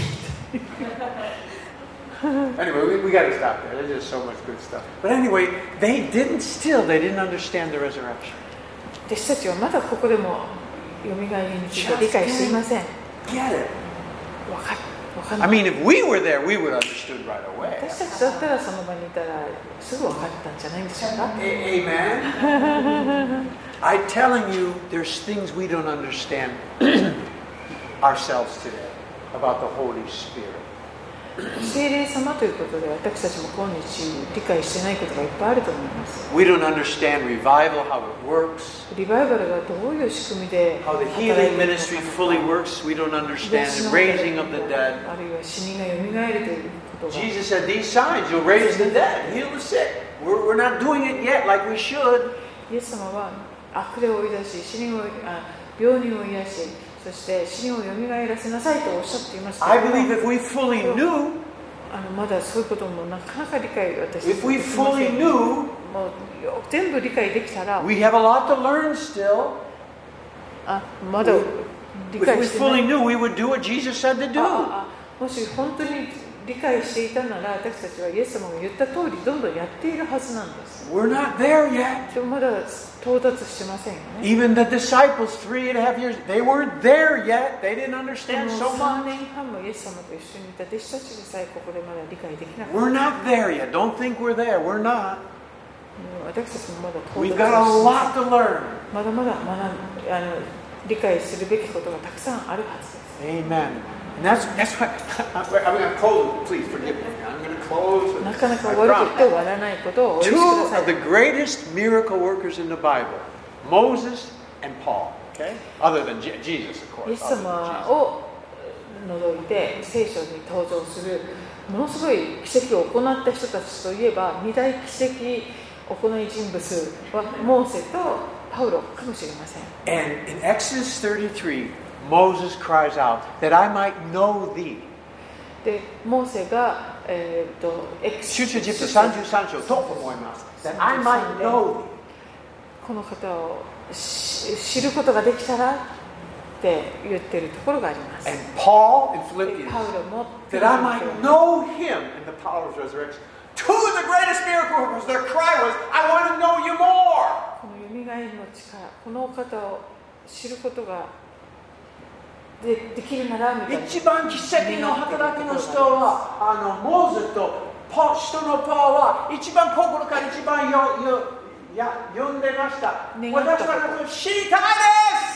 Anyway, we, we got to stop there. There's just so much good stuff. But anyway, they didn't still, they didn't understand the resurrection. 弟子たちはまだここでもよみがえりについて理解していません。 Get it. わかわかん I ない。 mean, if we were there, we would have understood right away. 私たちだったらその場にいたらすぐ分かったんじゃないんでしょうか。 A- Amen. I'm telling you, there's things we don't understand ourselves today about the Holy Spirit. 聖霊様ということで私たちも今日理解してないことがいっぱいあると思います。 We don't understand revival, how it works, リバイバルがどういう仕組みで how the 働いて healing いるの ministry fully か。 works. We don't understand the raising of the dead. あるいは死人がよみがえるということが。 Jesus said, these signs, you'll raise the dead, heal the sick. We're, we're not doing it yet like we should. イエス様は悪霊を追い出し、死人をあ病人を癒し、そして死人をよみがえらせなさいとおっしゃっていますけれ I ども believe if we fully knew, あのまだそういうこともなかなか理解私たち if we できませ fully ん。 knew, もうよ全部理解できたら、 we have a lot to learn still. あまだ理 If 解 we してない fully knew, we would do what Jesus said to あ do. ああもし本当に理解していたなら私たちはイエス様が言った通りどんどんやっているはずなんです。 We're not there yet. でもまだ到達してませんよね。 Even the disciples, three and a half years, they weren't there yet. They didn't で understand も so さん much. 年半もイエス様と一緒にいた弟子たちでさえここでまだ理解できなかった。 We're not there yet. Don't think we're there. We're not. もう私たちもまだ到 We've 達 got a してま lot せん。 to learn. まだまだ学んあの理解するべきことがたくさんあるはずです。 Amen. And that's that's why I'm going to close. Please forgive me. I'm going to close. with な this. かなか I 終わること promise. 終わらないことをお許し Two くだ of the さい。 greatest miracle workers in the Bible, Moses and Paul. Okay, other than Je- Jesus, of イエ course. ス Other 様 than Jesus. を除いて聖書に登場するものすごい奇跡を行った人たちといえば二大奇跡行い人物はモーセとパウロかもしれません。 And in Exodus thirty-three, Moses cries out that I might know thee. でモーセが、えー、とエク出エジプトさんじゅうさん章と思います。That I might know thee. この方をし知ることができたらって言ってるところがあります。 And Paul in で Philippians, パウロも that I might know him in the power of his resurrection. Two of the greatest miracle workers, their cry was, I want to know you more. このよみがえりの力、このお方を知ることが で, できるならみたいな。 一番奇跡の働きの人は、あのモーゼとパ人のパワーは一番心から一番よよや呼んでました。私は知りたいです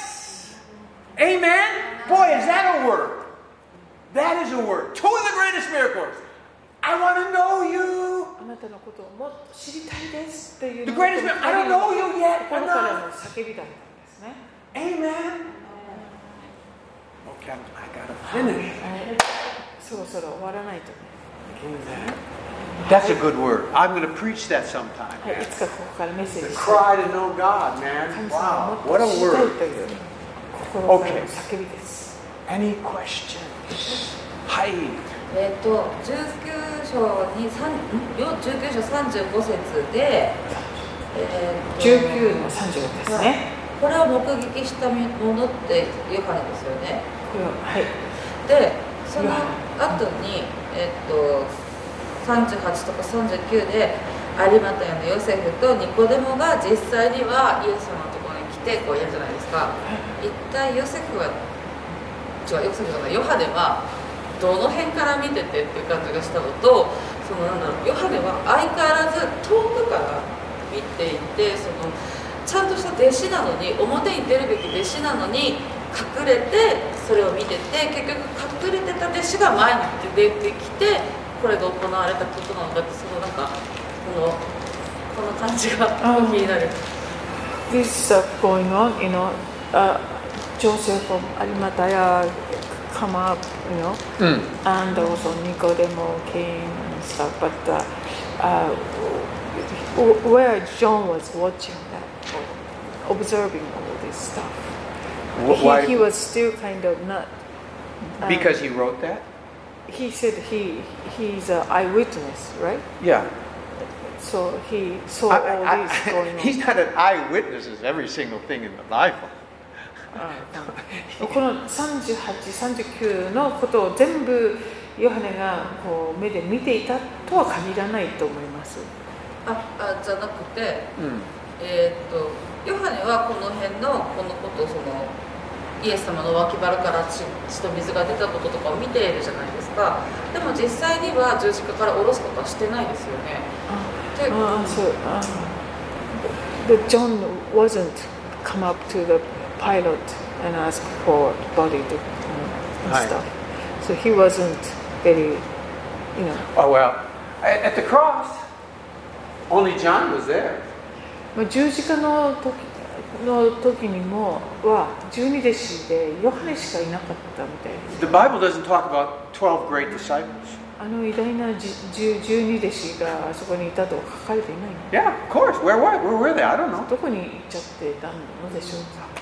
。Amen? Boy, is that a word? That is a word. Two of the greatest miracles. I want to know you. あなたのことをもっと知りたいですっていう The greatest miracle. I don't know you yet. 心からの叫びだったんですね。 Amen. Okay, I gotta finish. はいそろそろ終わらないとね。 That's a good word. I'm going to preach that sometime. はい、いつかここからメッセー The ジして cry to know God, man. 神様を Wow, も what っ a と知りたい word. という心からの叫びです。 Any questions? Hi. えっとじゅうきゅう章にさんじゅうきゅう章さんじゅうご節で、えーとじゅうきゅうのさんじゅうごですね。 これを目撃したものってヨハネですよね。 これははい。 でその後に、えっとさんじゅうはちとかさんじゅうきゅうで有馬タヤのヨセフとニコデモが実際にはイエス様のところに来てこうやるじゃないですか。一体ヨセフは違うヨセフじゃないヨハネはどの辺から見ててっていう感じがしたのと、そのなんだろうヨハネは相変わらず遠くから見ていて、そのちゃんとした弟子なのに表に出るべき弟子なのに隠れてそれを見てて、結局隠れてた弟子が前に出てきてこれが行われたことなのだって、そのなんかこのこの感じが気になる。 This stuff going on, you know, uh, Joseph of Arimathea come up, you know, Mm. and also Nicodemo came and stuff. But uh, uh, where John was watching that, observing all this stuff, Wh- why- he, he was still kind of not. uh, Because he wrote that? he said he he's an eyewitness, right? Yeah. So he saw I- all I- this I- going on. he's not an eyewitness of every single thing in the Bible. このさんじゅうはち、さんじゅうきゅうのことを全部ヨハネがこう目で見ていたとは限らないと思います。 ああじゃなくて、 うんえーっとヨハネはこの辺のこのことをそのイエス様の脇腹から血血と水が出たこととかを見ているじゃないですか。でも実際には十字架から下ろすことはしてないですよね。で、 ああ、そう。ああ But John wasn't come up to the pilot and ask for body to, you know, and Right. stuff. So he wasn't very, you know. Oh, well, at, at the cross, only John was there. まあ十字架の時の時にもは十二弟子でヨハネしかいなかったみたいです。 The Bible doesn't talk about twelve great disciples. あの偉大なじ十十二弟子があそこにいたと書かれていないの。 Yeah, of course. Where were, where were they? I don't know. どこに行っちゃってたのでしょうか。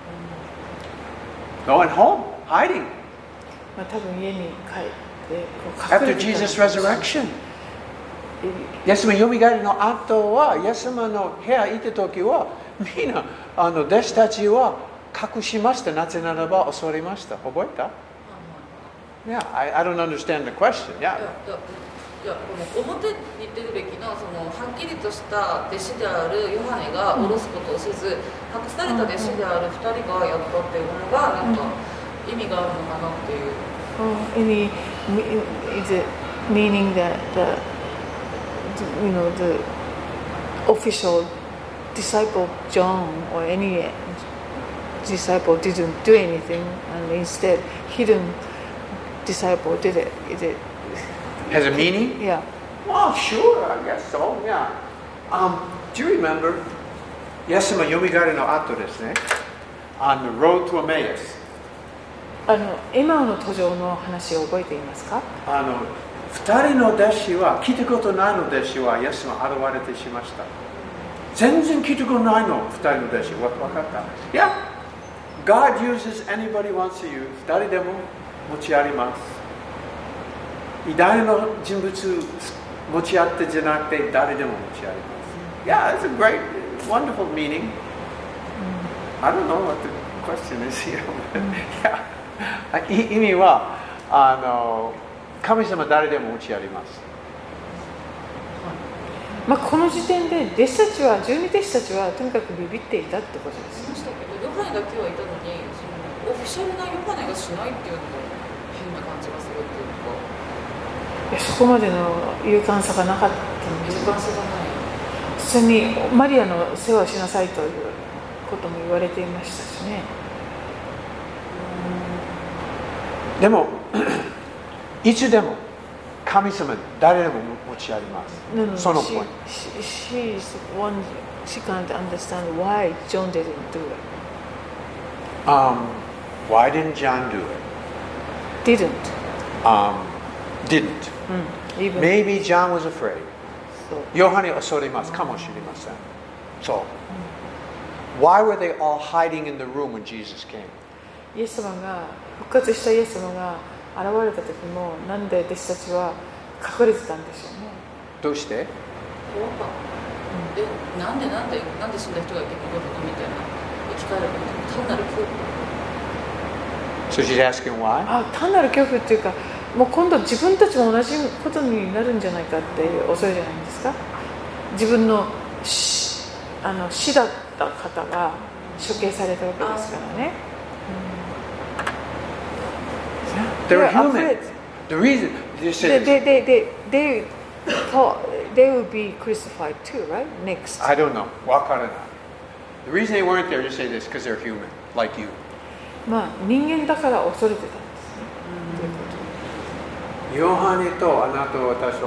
Going home, hiding. まあ多分家に帰ってこう隠 After れてたんで Jesus' しょう。 resurrection. イエス様よみがえりの後は、イエス様の部屋にいた時は、みんなあの弟子たちは隠しました。なぜならば恐れました。覚えた Yeah, I, I don't understand the question. いや Yeah. いやいやこの表に出るべきのそのはっきりとした弟子であるヨハネが下ろすことをせず、隠された弟子であるふたりがやったっていうのがなんか意味があるのかなっていう。 Uh, any is it meaning that the you know the official disciple John or any disciple didn't do anything and instead hidden disciple did it? Is it? Has a meaning? Yeah. Oh, sure, I guess so. Yeah. Um, do you remember? イエス様よみがえりの後ですね。On the road to Emmaus. あのエマオの途上の話を覚えていますか？ あの二人の弟子は聞いたことないの弟子はイエス様現れてしました。全然聞いたことないの二人の弟子わ分かった？ Yeah. God uses anybody wants to use. 誰でも持ちあります。偉大な人物持ち合ってじゃなくて誰でも持ちあります。Yeah, that's a great, wonderful meaning. I don't know what the question is here. yeah. 意味はあの神様誰でも持ちあります。 まあこの時点で弟子たちは十二弟子たちはとにかくビビっていたってことです。 しましたけどヨハネだけはいたのにそのオフィシャルなヨハネがしないっていうのが変な感じがするっていうか。 いやそこまでの勇敢さがなかったんです。 時間差がない。 普通にマリアの世話をしなさいということも言われていましたしね。 でもいつでも神様誰でも持ちあります。 No, no, その she, ポイント。 she, she's one, she can't understand why John didn't do it. Um, why didn't John do it? Didn't. Um, didn't. うん、even Maybe John was afraid. そうヨハネ恐れますかもしれません。そう。Why were they all hiding in the room when Jesus came? イエス様が復活したイエス様が現れた時もなんで弟子たちは隠れてたんでしょうね。 どうして怖かった。え、なんでなんでなんで死んだ人がいてここにみたいな生き返る単なる恐怖。 So she's asking why? あ、単なる恐怖っていうか、もう今度自分たちも同じことになるんじゃないかっていう恐れじゃないですか。自分の死、あの死だった方が処刑されたわけですからね。 They're They're human. afraid. The reason they They, said they, they, they, they thought they will be crucified too, right? Next. I don't know. わからない. The reason they weren't there, just say this, because they're human, like you. まあ人間だから恐れてたんですね。 ヨハネとあなたと私は同じです。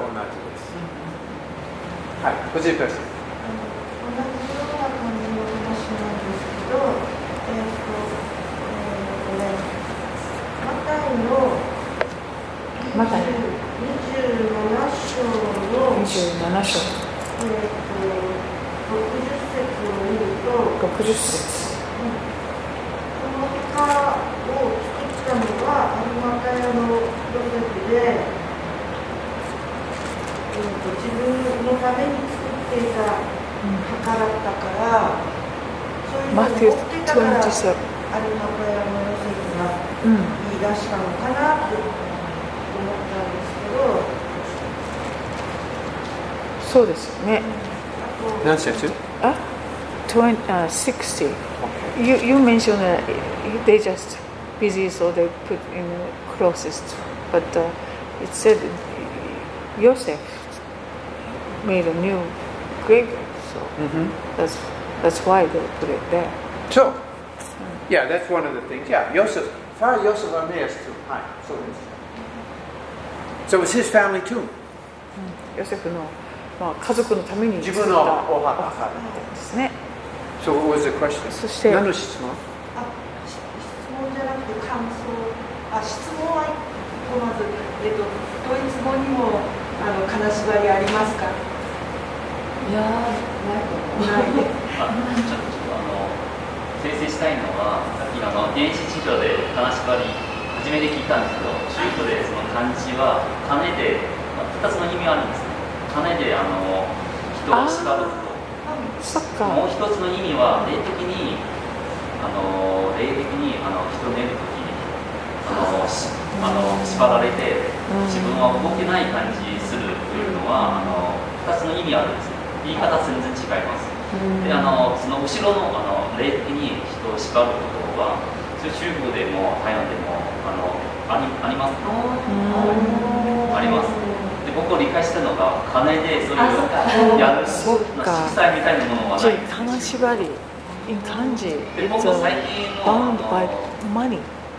はい、藤井君。同じような感じの話なんですけど、えっと、えー、マタイのマタイにじゅうなな章のにじゅうなな章、 えっと、ろくじゅっ節を見ると、 ろくじゅっ節。 この墓を作ったのはアリマタヤのヨセフで、えー、と自分のために作っていた墓だったから、そういうのを持っていたからアリマタヤのヨセフが言い出したのかなって思ったんですけど、 そうですよね。 何節？ あ、twenty, uh, sixty. You, you mentioned that they just busy, so they put in the closest. But uh, it said Joseph made a new graveyard, so mm-hmm. that's that's why they put it there. So, yeah, that's one of the things. Yeah, Joseph, Father Joseph Armaeus too. Hi, so so it's his family too. ヨセフのまあ家族のために自分のお墓ですね。 So what was the question? そして何の質問？ あ、質問じゃなくて感想。あ、質問はまず、えっと、ドイツ語にもあの金縛りありますか？ いやー、ないと思う。 ないで。 あ、ちょっとちょっとあの訂正したいのは、さっきあの電子辞書で金縛り初めて聞いたんですけど、中古でその漢字は金でふたつの意味あるんですね。金であの人を縛ること。 そっか。 もう一つの意味は霊的にあの霊的にあの人寝るときにあのしあの縛られて自分は動けない感じするというのはあの二つの意味あるんです。言い方全然違います。であのその後ろのあの霊的に人を縛ることは中国でも台湾でもあのありあります。あります。僕を理解したのが金でそういうやる色彩みたいなものはないんです。 金縛り in kanji で僕 it's 最 uh, 近の bound by money.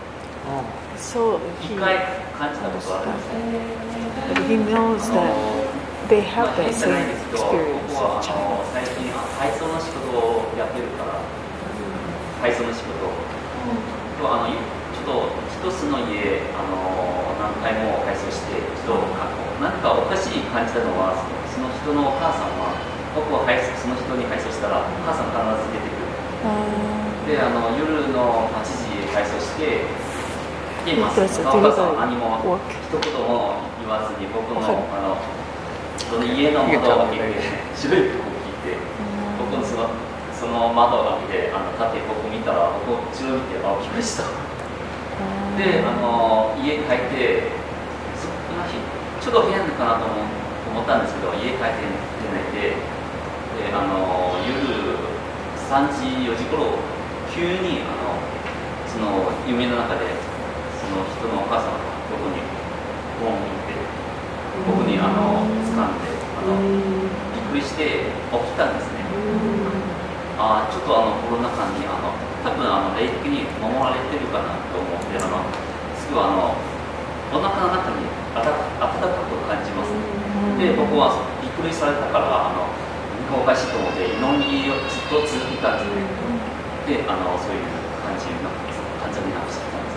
So 一 he 回感じたことあるんです。 but he knows that they have まあ that 変じゃない same ですけど、 experience 僕は in あ China. の最近配送の仕事をやってるから配送の仕事とあのちょっと一つの家あの何回も配送してちょっと何かおかしい感じたのはその人のお母さんは僕は配送その人に配送したらお母さん必ず出てくる。であの夜のはちじ配送してで、まあ、そのお母さんは何も一言も言わずに僕のあのその家の窓を開けて白い服を着て僕のそのその窓を開けてあの立って僕見たら僕後ろ見てあびっくりした。であの家帰ってその日ちょっと変かなと思思ったんですけど家帰って寝ないでであの夜さんじよじ頃急にあのその夢の中でその人のお母さんが僕にボンって僕にあの掴んであのびっくりして起きたんですね。あちょっとあのコロナ禍にあの多分あの霊的に守られてるかなと思ってあのすぐあのお腹の中に温かく感じます。で僕はびっくりされたからあのおかしいと思って祈りをずっと続けたんですね。であのそういう感じになって患者になってしまったんです。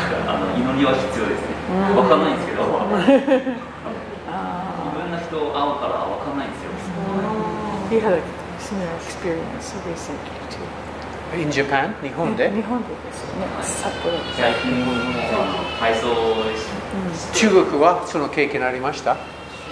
だからあの祈りは必要ですね。わかんないんですけどいろんな人会うからわかんないんですよ。 He had a similar experience recently too. In Japan? 日本で？ 日本でですよね。札幌です。 最近もあの配送し中国はその経験ありました？ 中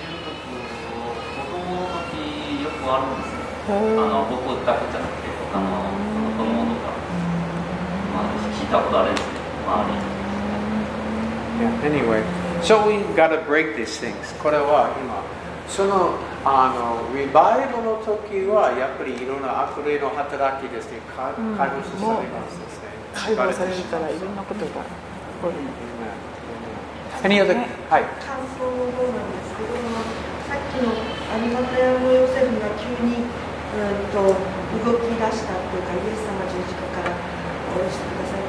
国子供の時よくあるんですね。あの僕だけじゃなくて他の子供とか、まあ、聞いたことあるんですね。周り。 Yeah, anyway, so we gotta break these things. これは今そのあのリバイバルの時はやっぱりいろんな悪霊の働きですね、解放されますですね。 解放されるからいろんなことが起こる。 Any other? はい。 感想の方なんですけども、さっきのアリマタヤのヨセフが急に、うん、と動き出したというか、イエス様十字架から下ろしてください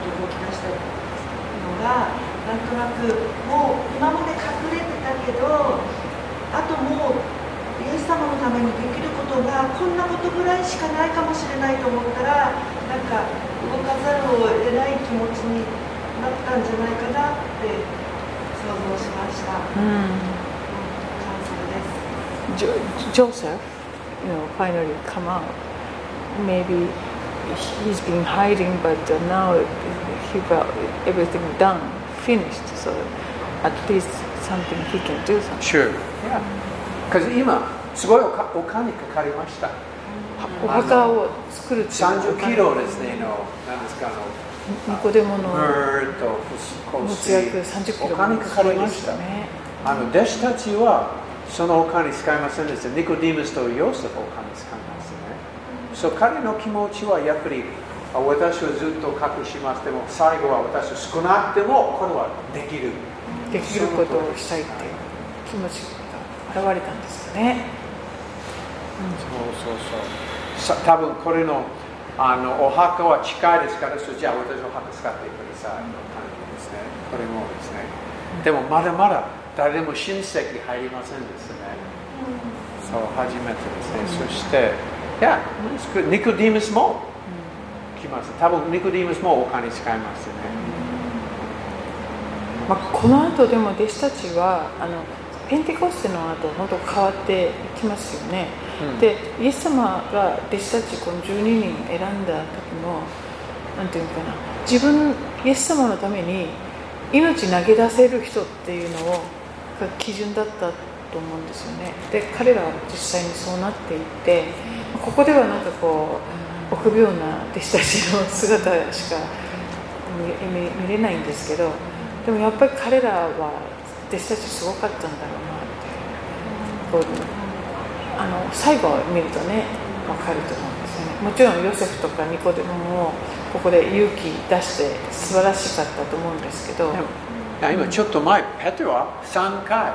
がなんとなくもう今まで隠れてたけど、あともうイエス様のためにできることがこんなことぐらいしかないかもしれないと思ったら、なんか動かざるを得ない気持ちになったんじゃないかなって想像しました。うん、感想です。 ジョセフ you know, finally come out. Maybe he's been hiding, but now he got everything done, finished. So at least something he can do something. Sure. Yeah. Because 今すごいお金かかりました。 お墓を作るっていうさんじゅっキロですねの何ですかあのニコデモのムと持ち役さんじゅっキロお金かかりました。あの弟子たちはそのお金使いませんでした。ニコディムスとヨセフお金使いますね。そう彼の気持ちはやっぱり私はずっと隠します。でも最後は私は少なくてもこれはできる。 できることをしたいっていう気持ちが現れたんですよね。 うん、そうそうそう。多分これのあのお墓は近いですから、そじゃあ私のお墓使ってくださいの感じですね。これもですね。でもまだまだ誰でも親戚入りませんですね。そう、初めてですね。そして、いや、ニコディムスも来ます。多分ニコディムスもお金使いますね。 まあ、この後でも弟子たちはあのペンテコステの後本当変わっていきますよね。うん、でイエス様が弟子たちこのじゅうににん選んだ時もなんていうのかな、自分イエス様のために命投げ出せる人っていうのをが基準だったと思うんですよね。で彼らは実際にそうなっていって、ここではなんかこう臆病な弟子たちの姿しか 見, 見, 見れないんですけど、でもやっぱり彼らは弟子たちすごかったんだろうなってこうあの最後を見るとね分かると思うんですよね。もちろんヨセフとかニコデモもここで勇気出して素晴らしかったと思うんですけど、 今ちょっと前ペテロはさんかい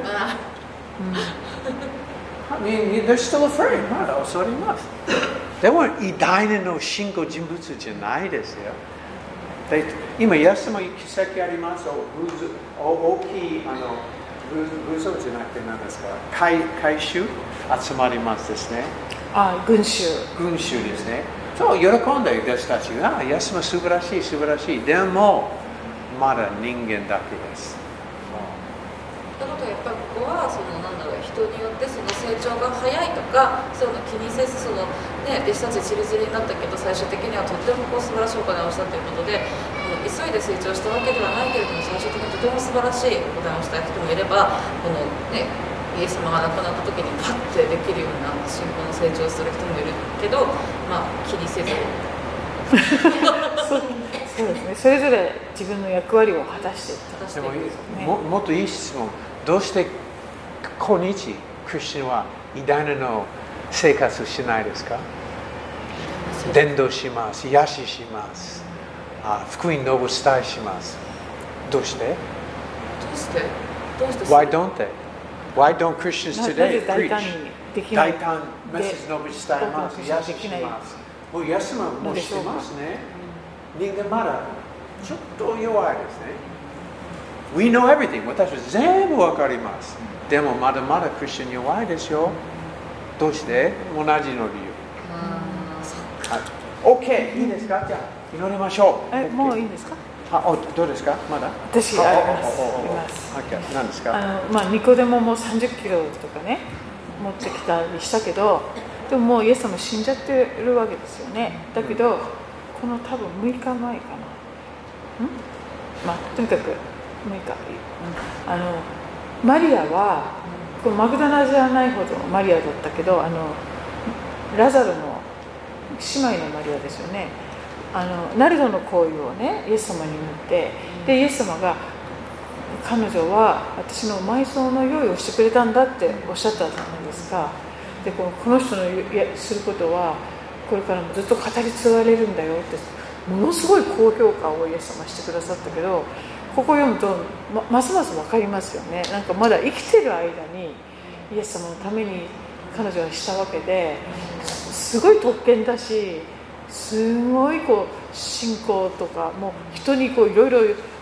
I mean, they're still afraid. まだ恐れます。でも偉大なの信仰人物じゃないですよ。で今、イエス様に奇跡あります。大きいあの武装じゃなくて何ですか、回収集まりますですね。 あ、群衆。 群衆ですね。そう喜んで弟子たちが、イエス様素晴らしい、素晴らしい。でも、まだ人間だけです。 なのでやっぱりここはそのなんだろう、人によってその成長が早いとかそういうの気にせず、そのね弟子たちチリチリになったけど最終的にはとってもこう素晴らしいお金をしたということで、急いで成長したわけではないけれども最終的にとても素晴らしいお金をした人もいれば、このねイエス様が亡くなった時にパッてできるような信仰の成長をする人もいるけど、まあ気にせずそうそうですね、それぞれ自分の役割を果たして果たしていくんですね。 も, もっといい質問、どうして今日クリスチャンは偉大なの生活しないですか？伝道します、癒しします、あ福音の伝えします。どうして？どうして？どうして？ Why don't they? Why don't Christians today preach? 大胆メッセージの伝えます、癒しします。もうイエス様もしてますね。人間まだちょっと弱いですね。We know everything. 私は全部わかります。でもまだまだクリスチャン弱いですよ。どうして？同じの理由。はい、OK、いいですか？じゃあ祈りましょう。 え、もういいですか？ あ、おどうですか？まだ？ 私あります。います。 Okay、何ですか？ あのまあニコデモもさんじゅっキロとかね持ってきたりしたけど、でももうイエス様死んじゃってるわけですよね。だけど、うん、この多分むいかまえかな。ん？まあとにかくむいか。うん、あのマリアはこのマグダラじゃないほどマリアだったけど、あのラザロの姉妹のマリアですよね。あのナルドの香油をねイエス様に塗って、でイエス様が彼女は私の埋葬の用意をしてくれたんだっておっしゃったじゃないですか。でこの、この人のすることはこれからもずっと語り継がれるんだよってものすごい高評価をイエス様してくださったけど、ここを読むと ま, ますます分かりますよね。なんかまだ生きてる間にイエス様のために彼女はしたわけで、すごい特権だし、すごいこう信仰とかもう人にこういろいろ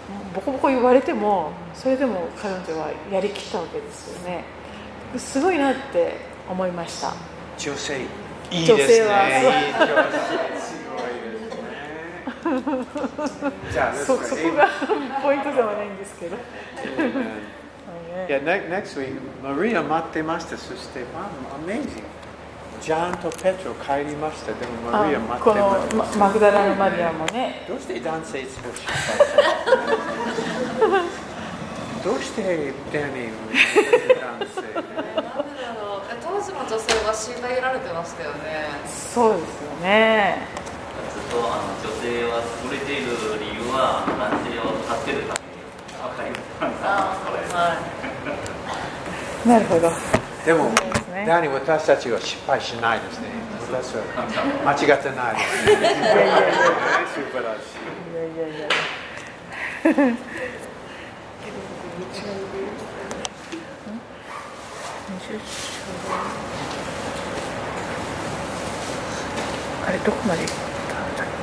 ボコボコ言われてもそれでも彼女はやりきったわけですよね。すごいなって思いました。 女性いいですね。 女性はすごいですね。じゃあそ, そこがポイントではないんですけど。 いや、next week マリア待ってました。そして、まあ、amazing。ジャンとペトロ帰りました。でもマリア待ってました。 このマグダラのマリアもね。 どうして男性いつも失敗するの？どうしてダニー男性？ 当時の女性は虐げられてましたよね。 そうですよね。 ずっとあの女性は優れている理由は男性を助けるために分かります。 なるほど。 でも、ね、ダニー私たちは失敗しないですね。私は間違ってないですね。いやいやいや、素晴らしい。いやいやいや。 あれどこまで行ったんだっ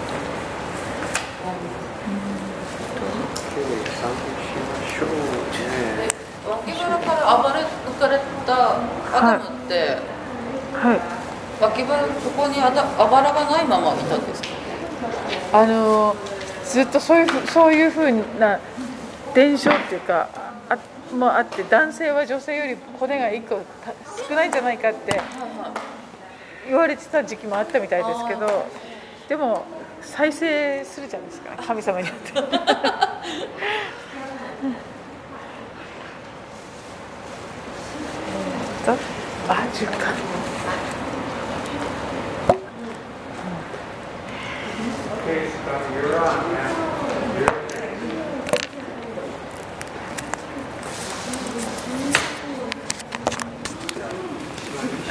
け？脇腹から暴れ抜かれたアダムって、 はい、 脇腹ここにあだあばらがないままいたんですか？ あのずっとそういうそういうふうな伝承っていうかあもあって男性は女性より骨がいっこ少ないんじゃないかって言われてた時期もあったみたいですけど、でも再生するじゃないですか、神様によって。あ、じゅうか。 Okay, so you're on, man.